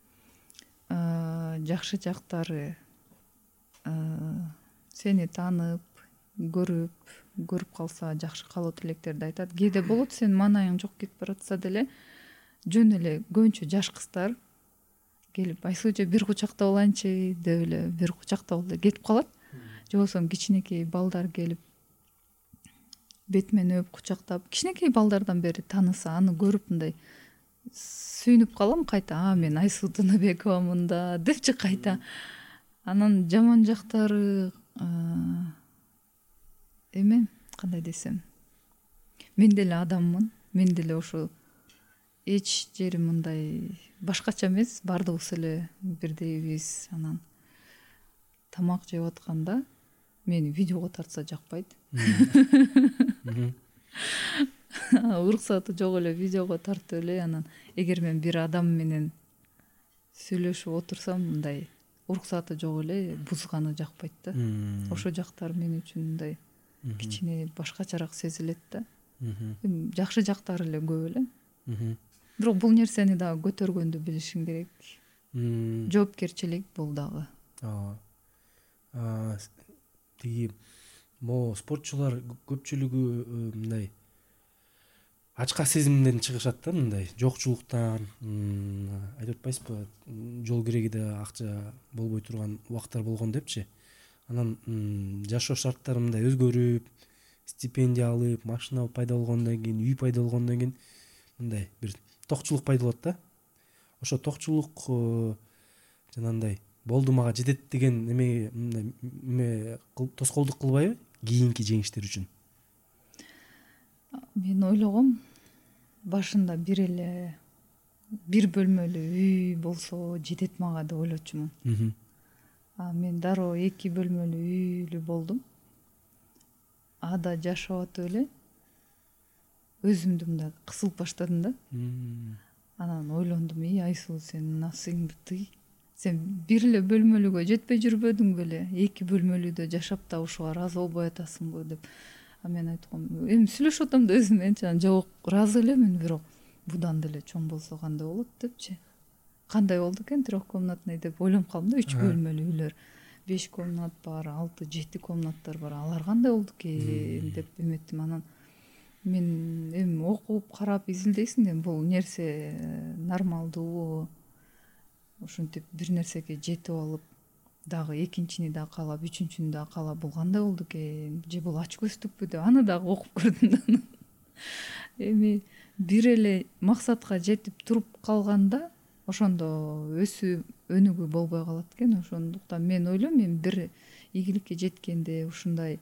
Жакшы жактары сени таанып, көрүп, көрүп калса жакшы каалоо тилектерди айтат. Кээде болот сенин маанайың жок кетип баратса деле жөн эле көбүнчө жаш кыздар келип Айсулчу бир кучактап алайынчы деп эле бир кучактап эле кетип калат. Же болбосо кичинекей балдар келип бетимен өп кучактап, кичинекей балдардан бери тааныса, аны көрүп мындай сүйүнүп калам кайта. А мен Айсул Тыныбековамын да депчи кайта. Анан жаман жактары эме кандай десем, мен деле адаммын, мен деле ошо эч жерим мындай башкача эмес, баардыгыбыз эле бирдейбиз. Анан тамак жеп атканда мени видеого тартса жакпайт. Уруксаты жок эле видеого тартып эле, анан эгер мен бир адам менен сүйлөшүп отурсам мындай уруксаты жок эле бузганы жакпайт да. Ошол жактар мен үчүн мындай кичине башкачараак сезилет да. Жакшы жактары эле көп эле. Бирок бул нерсени дагы көтөргөндү билишиң керек. Жоопкерчилик бул дагы. Тиги могу спортчулар көпчүлүгү мындай ачка сезимден чыгышат да, мындай жокчулуктан, айтып атпайсызбы, жол кирегиде акча болбой турган убактар болгон депчи. Анан жашоо шарттары мындай өзгөрүп, стипендия алып, машина пайда болгондон кийин, үй пайда болгондон кийин мындай бир токчулук пайда болот да. Ошо токчулук жанагындай болду мага жетет деген эме эме тоскоолдук кылбайбы кийинки жеңиштер үчүн? Мен ойлогом, башында бир эле бир бөлмөлүү үй болсо жетет мага деп ойлочумун. А мен дароо эки бөлмөлүү үйлүү болдум. Ада жашап атып эле өзүмдү мындай кысылып баштадым да. Анан ойлондум, и Айсул, сен насыйыңды тый. Сен бир эле бөлмөлүүгө жетпей жүрбөдүң беле? Эки бөлмөлүүдө жашап да ушуга ыраазы болбой атасыңбы деп. А мен айткам, эми сүйлөшүп атам да өзүм менчи, анан жок, ыраазы элемин, бирок будан деле чоң болсо кандай болот депчи. Кандай болду экен трехкомнатный деп ойлонуп калдым да, үч бөлмөлүү үйлөр. беш комнат бар, алты, жети комнаттар бар. Алар кандай болду экен деп эметтим. Анан мен эми окуп, карап изилдейсиң да, бул нерсе нормалдуу. Ушинтип бир нерсеге жетип алып, дагы экинчини да каалап, үчүнчүнү да каалап, бул кандай болду экен? Же бул ач көздүкпү деп аны дагы окуп көрдүм да. Эми бир эле максатка жетип туруп калганда, ошондо өсүү өнүгүү болбой калат экен. Ошондуктан мен ойлойм, мен бир ийгиликке жеткенде, ушундай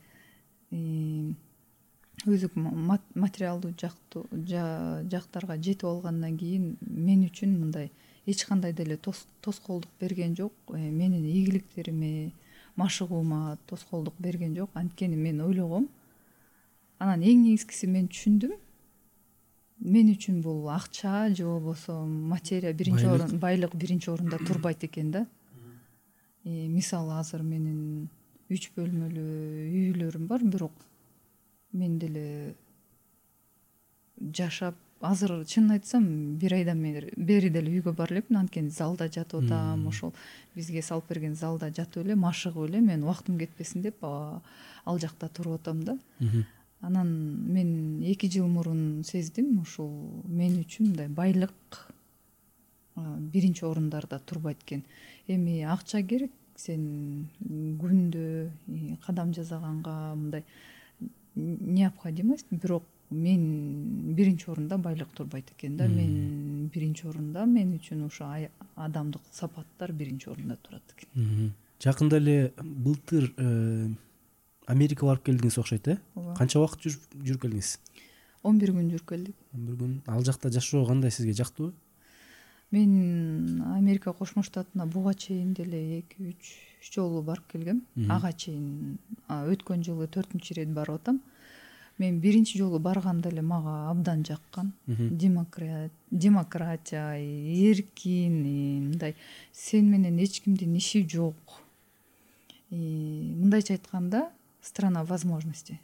өзүк материалдуу жактарга жетип алгандан кийин мен үчүн мындай эч кандай деле тоскоолдук берген жок. Менин ийгиликтериме, машыгуума тоскоолдук берген жок. Анткени мен ойлогом, анан эң негизгиси мен түшүндүм, мен үчүн бул акча же болбосо материя биринчи орун, байлык биринчи орунда турбайт экен да. Мисалы азыр менин үч бөлмөлүү үйлөрүм бар, бирок мен деле жашап, азыр чынын айтсам бир айдан бери деле үйгө бара элекмин, анткени залда жатып атам, ошол бизге салып берген залда жатып эле, машыгып эле, мен убактым кетпесин деп ал жакта туруп атам да. Анан мен эки жыл мурун сездим, ушул мен үчүн мындай байлык биринчи орундарда турбайт экен. Эми акча керек, сен күндө кадам жасаганга мындай необходимость, бирок мен биринчи орунда байлык турбайт экен да. Мен биринчи орунда, мен үчүн ошо адамдык сапаттар биринчи орунда турат экен. Жакында эле былтыр Америкага барып келдиңиз окшойт, э? Канча убакыт жүрүп келдиңиз? он бир күн жүрүп келдик. он бир күн. Ал жакта жашоо кандай, сизге жактыбы? Мен Америка Кошмо Штатына буга чейин деле эки үч жолу барып келгем. Ага чейин өткөн жылы төртүнчү ирет барып атам. Мен биринчи жолу барганда эле мага абдан жаккан. Демократия, эркин, мындай сен менен эч кимдин иши жок. Мындайча айтканда, страна возможностей.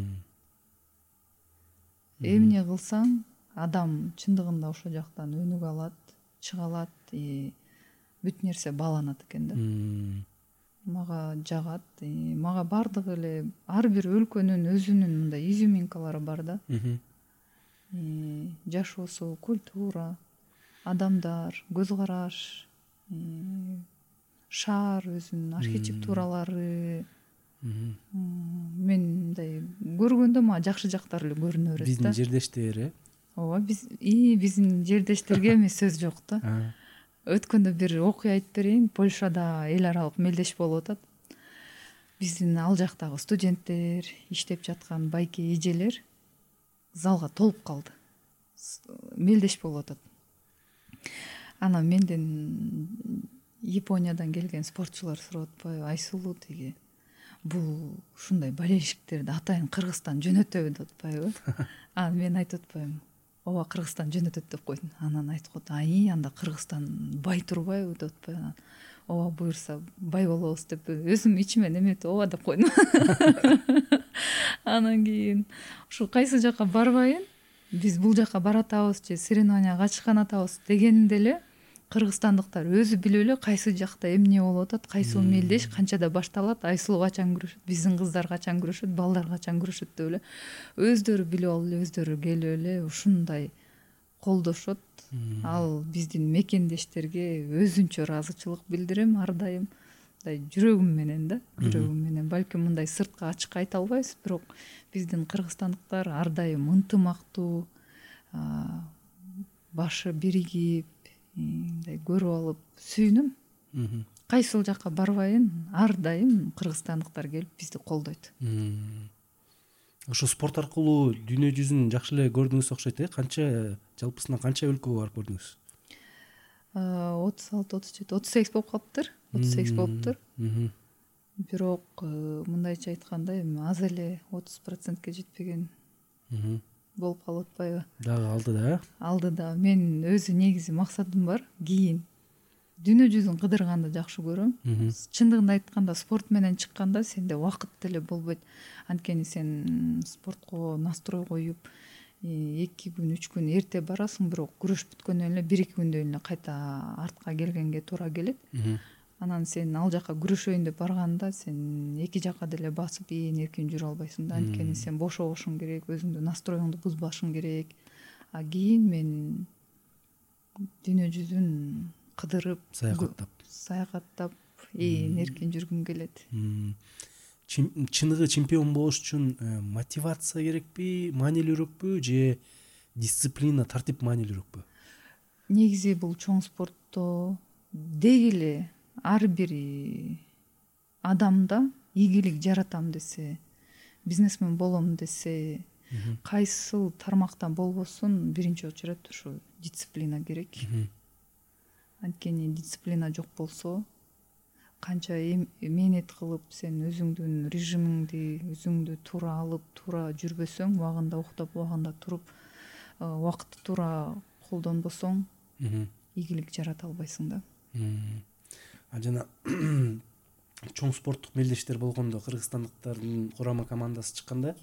Эмне кылсаң, адам чындыгында ошол жактан өнүгө алат, чыга алат, бүт нерсе бааланат экен да. Мага жагат. Мага бардыгы эле ар бир өлкөнүн өзүнүн мындай изюминкалары бар да. Жашоосу, культура, адамдар, көз караш, шаар өзүнүн архитектуралары. Мен мындай көргөндө мага жакшы жактары эле көрүнө берет да. Биздин жердештер, э? Ооба, биз и биздин жердештерге эми сөз жок да. Өткөндө бир окуя айтып берейин. Польшада эл аралык мелдеш болуп атат. Биздин ал жактагы студенттер, иштеп жаткан байке эжелер залга толуп калды. Мелдеш болуп атат. Анан менден Япониядан келген спортчулар сурап атпайбы, Айсулуу тиги бул ушундай болельщиктерди атайын Кыргызстан жөнөтөбү деп атпайбы? Анан мен айтып атпайм, ооба Кыргызстан жөнөтөт деп койдум. Анан айтып атат, ай анда Кыргызстан бай турбайбы деп атпайбы? Ооба буюрса бай болобуз деп өзүм ичимен эметип ооба деп койдум. Анан кийин ушу кайсы жака барбайын, биз бул жака баратабыз же соревнованияга катышкан атабыз дегенде эле кыргызстандыктар өзү билип эле кайсы жакта эмне болуп атат, кайсыл мелдеш канчада башталат, Айсулуу качан күрөшөт, биздин кыздар качан күрөшөт, балдар качан күрөшөт деп эле өздөрү билип алып эле, өздөрү келип эле ушундай колдошот. Ал биздин мекендештерге өзүнчө ыраазычылык билдирем ар дайым. Мындай жүрөгүм менен да, жүрөгүм менен. Балким мындай сыртка ачык айта албайбыз, бирок биздин кыргызстандыктар ар дайым ынтымактуу, башы биригип, мындай көрүп алып сүйүнөм. Кайсыл жака барбайын, ар дайым кыргызстандыктар келип бизди колдойт. Ошо спорт аркылуу дүйнө жүзүн жакшы эле көрдүңүз окшойт, э? Канча жалпысынан канча өлкөгө барып көрдүңүз? отуз алты, отуз жети, отуз сегиз болуп калыптыр. отуз сегиз болуптур. Бирок мындайча айтканда эми аз эле отуз процентке жетпеген болуп калып атпайбы? Дагы алды да. Алды да. Мен өзү негизи максатым бар. Кийин дүйнө жүзүн кыдырганды жакшы көрөм. Чындыгын айтканда спорт менен чыкканда сенде убакыт деле болбойт. Анткени сен спортко настрой коюп, эки күн, үч күн эрте барасың, бирок күрөш бүткөндөн эле бир эки күндөн эле кайта артка келгенге туура келет. Анан сен ал жака күрөшөйүн деп барганда сен эки жака деле басып ээн эркин жүрө албайсың да. Анткени сен бошобошуң керек, өзүңдү настроюңду бузбашың керек. А кийин мен дүйнө жүзүн кыдырып, саякаттап, саякаттап ээн эркин жүргүм келет. Чыныгы чемпион болуш үчүн мотивация керекпи, маанилүүрөөкпү же дисциплина, тартип маанилүүрөөкпү? Негизи бул чоң спортто деги эле ар бир адамда ийгилик жаратам десе, бизнесмен болом десе, кайсыл тармактан болбосун биринчи очередь ушу дисциплина керек. Анткени дисциплина жок болсо, канча мээнет кылып сен өзүңдүн режимиңди, өзүңдү туура алып, туура жүрбөсөң, убагында уктап, убагында туруп, убакытты туура колдонбосоң, ийгилик жарата албайсың да. А жана чоң спорттук мелдештер болгондо кыргызстандыктардын курама командасы чыкканда,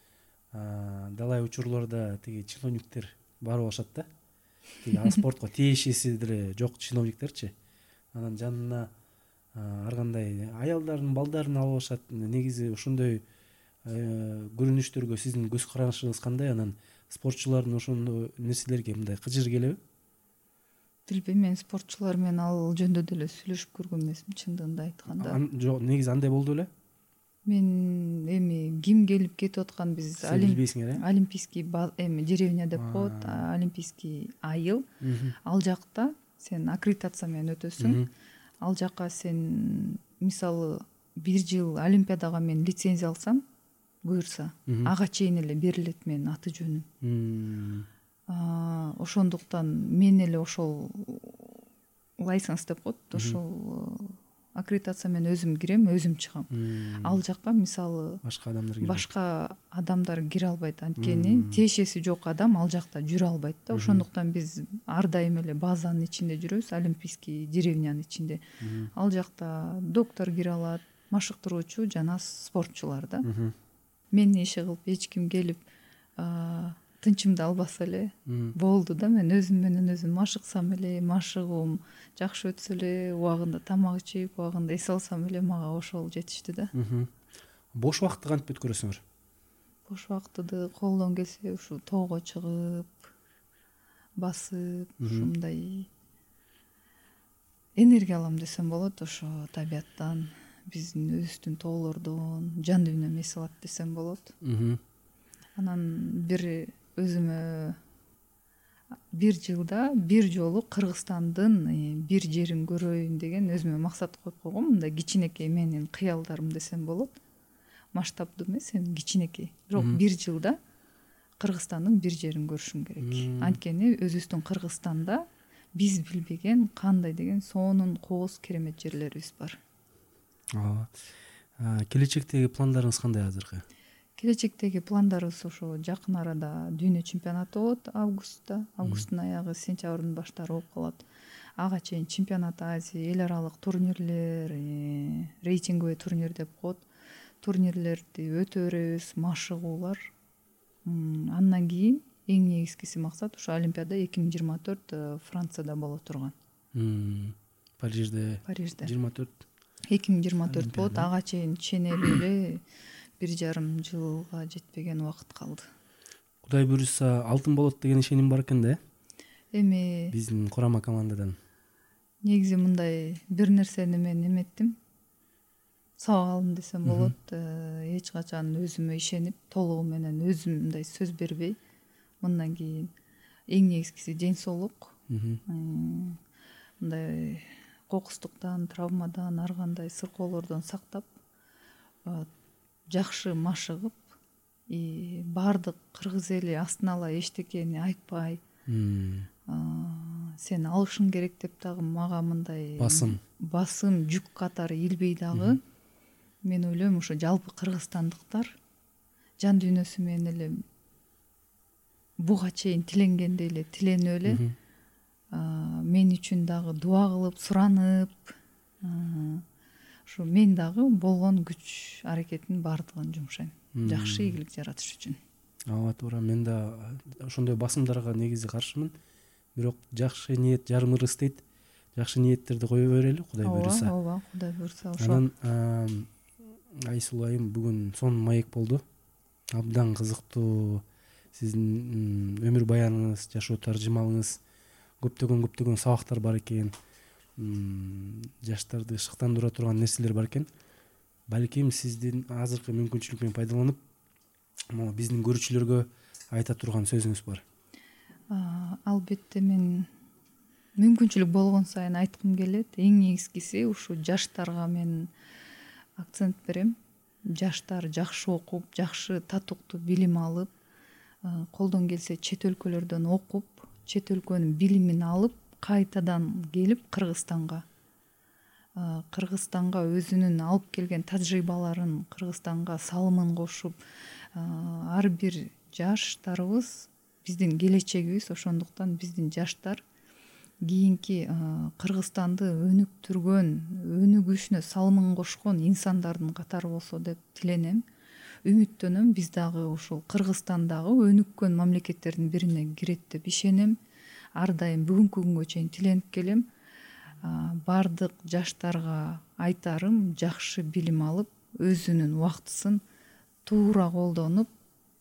далай учурларда тиги чиновниктер барып алышат да. Тиги спортко тиешеси деле жок чиновниктерчи. Анан жанына ар кандай аялдарын, балдарын алып алышат. Негизи ошондой көрүнүштөргө сиздин көз карашыңыз кандай? Анан спортчулардын ошондой нерселерге мындай кыжыр келеби? Билбейм, мен спортчулар менен ал жөндө деле сүйлөшүп көргөн эмесмин, чындыгында айтканда. Жок, негизи андай болду беле? Мен эми ким келип кетип аткан, биз олимпийский эми деревня деп коет, олимпийский айыл. Ал жакта сен аккредитация менен өтөсүң. Ал жака сен мисалы бир жыл олимпиадага мен лицензия алсам, буюрса, ага чейин эле берилет менин аты жөнүм. Ошондуктан мен эле ошол лайсенс деп коет, ошол аккредитация менен өзүм кирем, өзүм чыгам. Ал жакка мисалы башка адамдар кирбейт. Башка адамдар кире албайт, анткени тиешеси жок адам ал жакта жүрө албайт да. Ошондуктан биз ар дайым эле базанын ичинде жүрөбүз, олимпийский деревнянын ичинде. Ал жакта доктор кире алат, машыктыруучу жана спортчулар да. Мени иши кылып эч ким келип тынчымды албаса эле болду да. Мен өзүм менен өзүм машыксам эле, машыгуум жакшы өтсө эле, убагында тамак ичип, убагында эс алсам эле мага ошол жетиштүү да. Бош убакытты кантип өткөрөсүңөр? Бош убактыды колдон келсе ушу тоого чыгып, басып, ушундай энергия алам десем болот. Ошо табияттан, биздин өзүбүздүн тоолордон жан дүйнөм эс алат десем болот. Анан бир өзүмө бир жылда бир жолу Кыргызстандын бир жерин көрөйүн деген өзүмө максат коюп койгом. Мындай кичинекей менин кыялдарым десем болот. Масштабдуу эмес, эми кичинекей. Бирок бир жылда Кыргызстандын бир жерин көрүшүм керек. Анткени өзүбүздүн Кыргызстанда биз билбеген кандай деген сонун кооз керемет жерлерибиз бар. Келечектеги пландарыңыз кандай азыркы? Келечектеги пландарыбыз ошо жакын арада дүйнө чемпионаты болот августта, августтун аягы, сентябрдын баштары болуп калат. Ага чейин чемпионат Азия, эл аралык турнирлер, рейтинговый турнир деп коет. Турнирлерди өтө беребиз, машыгуулар. Андан кийин эң негизгиси максат ошо Олимпиада эки миң жыйырма төрт Францияда боло турган. Парижде. Парижде. жыйырма төрт. эки миң жыйырма төрт болот. Ага чейин ченелүү эле бир жарым жылга жетпеген убакыт калды. Кудай буйруса алтын болот деген ишеним бар экен да? Эми биздин курама командадан. Негизи мындай бир нерсени мен эметтим. Сабак алдым десем болот. Эч качан өзүмө ишенип, толугу менен өзүм мындай сөз бербей, мындан кийин эң негизгиси ден соолук. Мындай кокустуктан, травмадан, ар кандай сыркоолордон сактап, жакшы машыгып, баардык кыргыз эли астына ала эчтекени айтпай, сен алышың керек деп дагы мага мындай басым басым жүк катары илбей дагы, мен ойлойм ошо жалпы кыргызстандыктар жан дүйнөсү менен эле буга чейин тиленгендей эле тиленип эле мен үчүн дагы дуа кылып, суранып, ушу мен дагы болгон күч аракеттин баардыгын жумшайм жакшы ийгилик жаратыш үчүн. Ооба, туура. Мен да ошондой басымдарга негизи каршымын. Бирок жакшы ниет жарым ырыс дейт. Жакшы ниеттерди кое берели, Кудай буйруса. Ооба, ооба, Кудай буйруса. Ошо. Анан Айсул айым бүгүн сонун маек болду. Абдан кызыктуу сиздин өмүр баяныңыз, жашоо таржымалыңыз, көптөгөн көптөгөн сабактар бар экен. Жаштарды шыктандыра турган нерселер бар экен. Балким сиздин азыркы мүмкүнчүлүктөн пайдаланып, могу биздин көрүүчүлөргө айта турган сөзүңүз бар. Албетте мен мүмкүнчүлүк болгон сайын айткым келет. Эң негизгиси ушу жаштарга мен акцент берем. Жаштар жакшы окуп, жакшы татыктуу билим алып, колдон келсе чет өлкөлөрдөн окуп, чет өлкөнүн билимин алып, кайтадан келип Кыргызстанга Кыргызстанга өзүнүн алып келген тажрыйбаларын Кыргызстанга салымын кошуп, ар бир жаштарыбыз биздин келечегибиз. Ошондуктан биздин жаштар кийинки Кыргызстанды өнүктүргөн, өнүгүшүнө салымын кошкон инсандардын катары болсо деп тиленем, үмүттөнөм. Биз дагы ушул Кыргызстандагы өнүккөн мамлекеттердин бирине кирет деп ишенем. Ар дайым бүгүнкү күнгө чейин тиленип келем. Бардык жаштарга айтарым жакшы билим алып, өзүнүн убактысын туура колдонуп,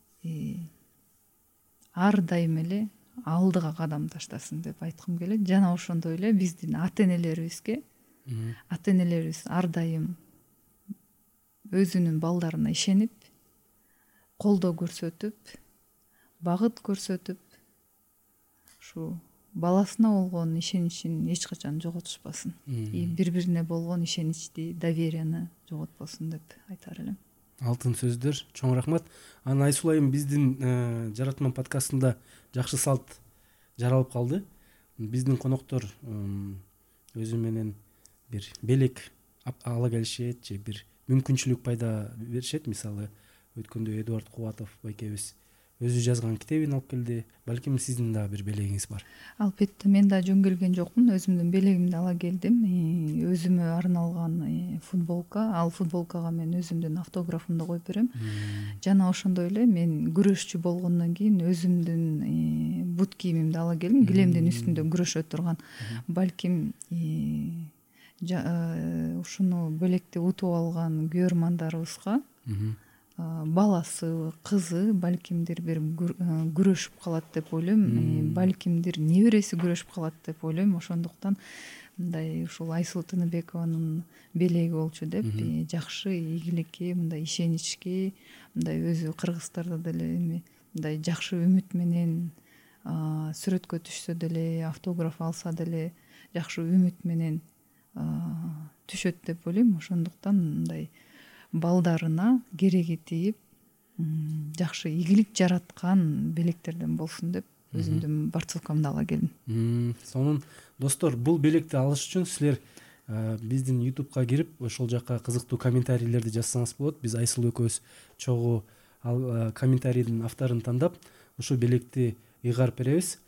ар дайым эле алдыга кадам таштасын деп айткым келет. Жана ошондой эле биздин ата-энелерибизге, ата-энелерибиз ар дайым өзүнүн балдарына ишенип, колдоо көрсөтүп, багыт көрсөтүп, ушу баласына болгон ишеничин эч качан жоготушпасын. И бири-бирине болгон ишеничти, доверияны жоготпосун деп айтар элем. Алтын сөздөр, чоң рахмат. Анан Айсул айым биздин Жаратман подкастында жакшы салт жаралып калды. Биздин коноктор өзү менен бир белек ала келишет же бир мүмкүнчүлүк пайда беришет. Мисалы өткөндө Эдуард Кубатов байкебиз өзү жазган китебин алып келди. Балким сиздин дагы бир белегиңиз бар. Албетте, мен да жөн келген жокмун. Өзүмдүн белегимди ала келдим. Өзүмө арналган футболка. Ал футболкага мен өзүмдүн автографымды коюп берем. Жана ошондой эле мен күрөшчү болгондон кийин өзүмдүн бут кийимимди ала келдим. Килемдин үстүндө күрөшө турган. Балким ушуну белекти утуп алган күйөрмандарыбызга баласы, кызы балкимдир бир күрөшүп калат деп ойлойм. Балкимдир небереси күрөшүп калат деп ойлойм. Ошондуктан мындай ушул Айсулуу Тыныбекованын белеги болчу деп жакшы ийгиликке, мындай ишеничке, мындай өзү кыргыздарда деле эми мындай жакшы үмүт менен сүрөткө түшсө деле, автограф алса деле жакшы үмүт менен түшөт деп ойлойм. Ошондуктан мындай балдарына кереги тийип, жакшы ийгилик жараткан белектерден болсун деп өзүмдүн борцовкамды ала келдим. Сонун достор, бул белекти алыш үчүн силер биздин ютубка кирип, ошол жакка кызыктуу комментарийлерди жазсаңыз болот. Биз Айсулуу экөөбүз чогуу ал комментарийдин авторун тандап, ушул белекти ыйгарып беребиз.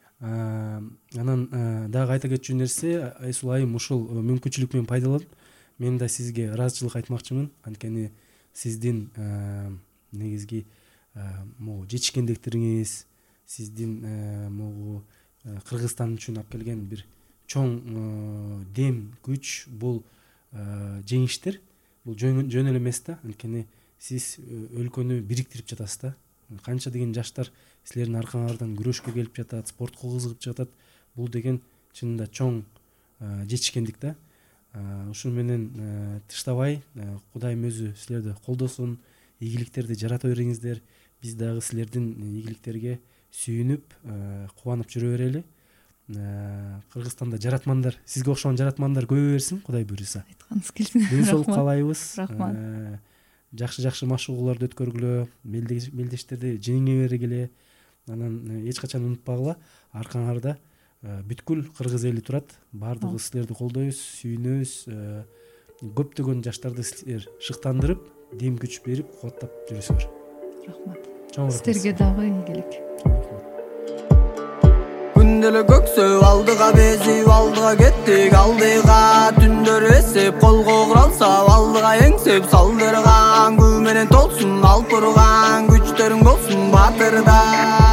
Анан дагы айта кетчү нерсе, Айсулуу айым ушул мүмкүнчүлүк менен пайдаланып, мен да сизге ыраазычылык айтмакчымын. Анткени сиздин негизги могу жетишкендиктериңиз, сиздин могу Кыргызстан үчүн алып келген бир чоң дем, күч, бул жеңиштер. Бул жөн эле эмес да. Анткени сиз өлкөнү бириктирип жатасыз да. Канча деген жаштар силердин аркаңардан күрөшкө келип жатат, спортко кызыгып жатат. Бул деген чынында чоң жетишкендик да. Ушуну менен тыштабай, Кудайым өзү силерди колдосун, ийгиликтерди жарата бериңиздер. Биз дагы силердин ийгиликтерге сүйүнүп, кубанып жүрө берели. Кыргызстанда жаратмандар, сизге окшогон жаратмандар көбөйө берсин, Кудай буйруса. Айтканыңыз келсин. Ден соолук каалайбыз. Рахмат. Жакшы-жакшы машыгууларды өткөргүлө, мелдештерди жеңе бергиле. Анан эч качан унутпагыла, аркаңарда бүткүл кыргыз эли турат. Баардыгыбыз силерди колдойбуз, сүйүнөбүз. Көптөгөн жаштарды силер шыктандырып, дем күч берип, кубаттап жүрөсүңөр. Рахмат. Чоң рахмат. Силерге дагы ийгилик. Күнделе көксөп алдыга безип, алдыга кеттик алдыга. Түндөр эсеп, колго куралса, алдыга эңсеп салдырган. Күн менен толсун алып турган, күчтөрүң болсун батырда.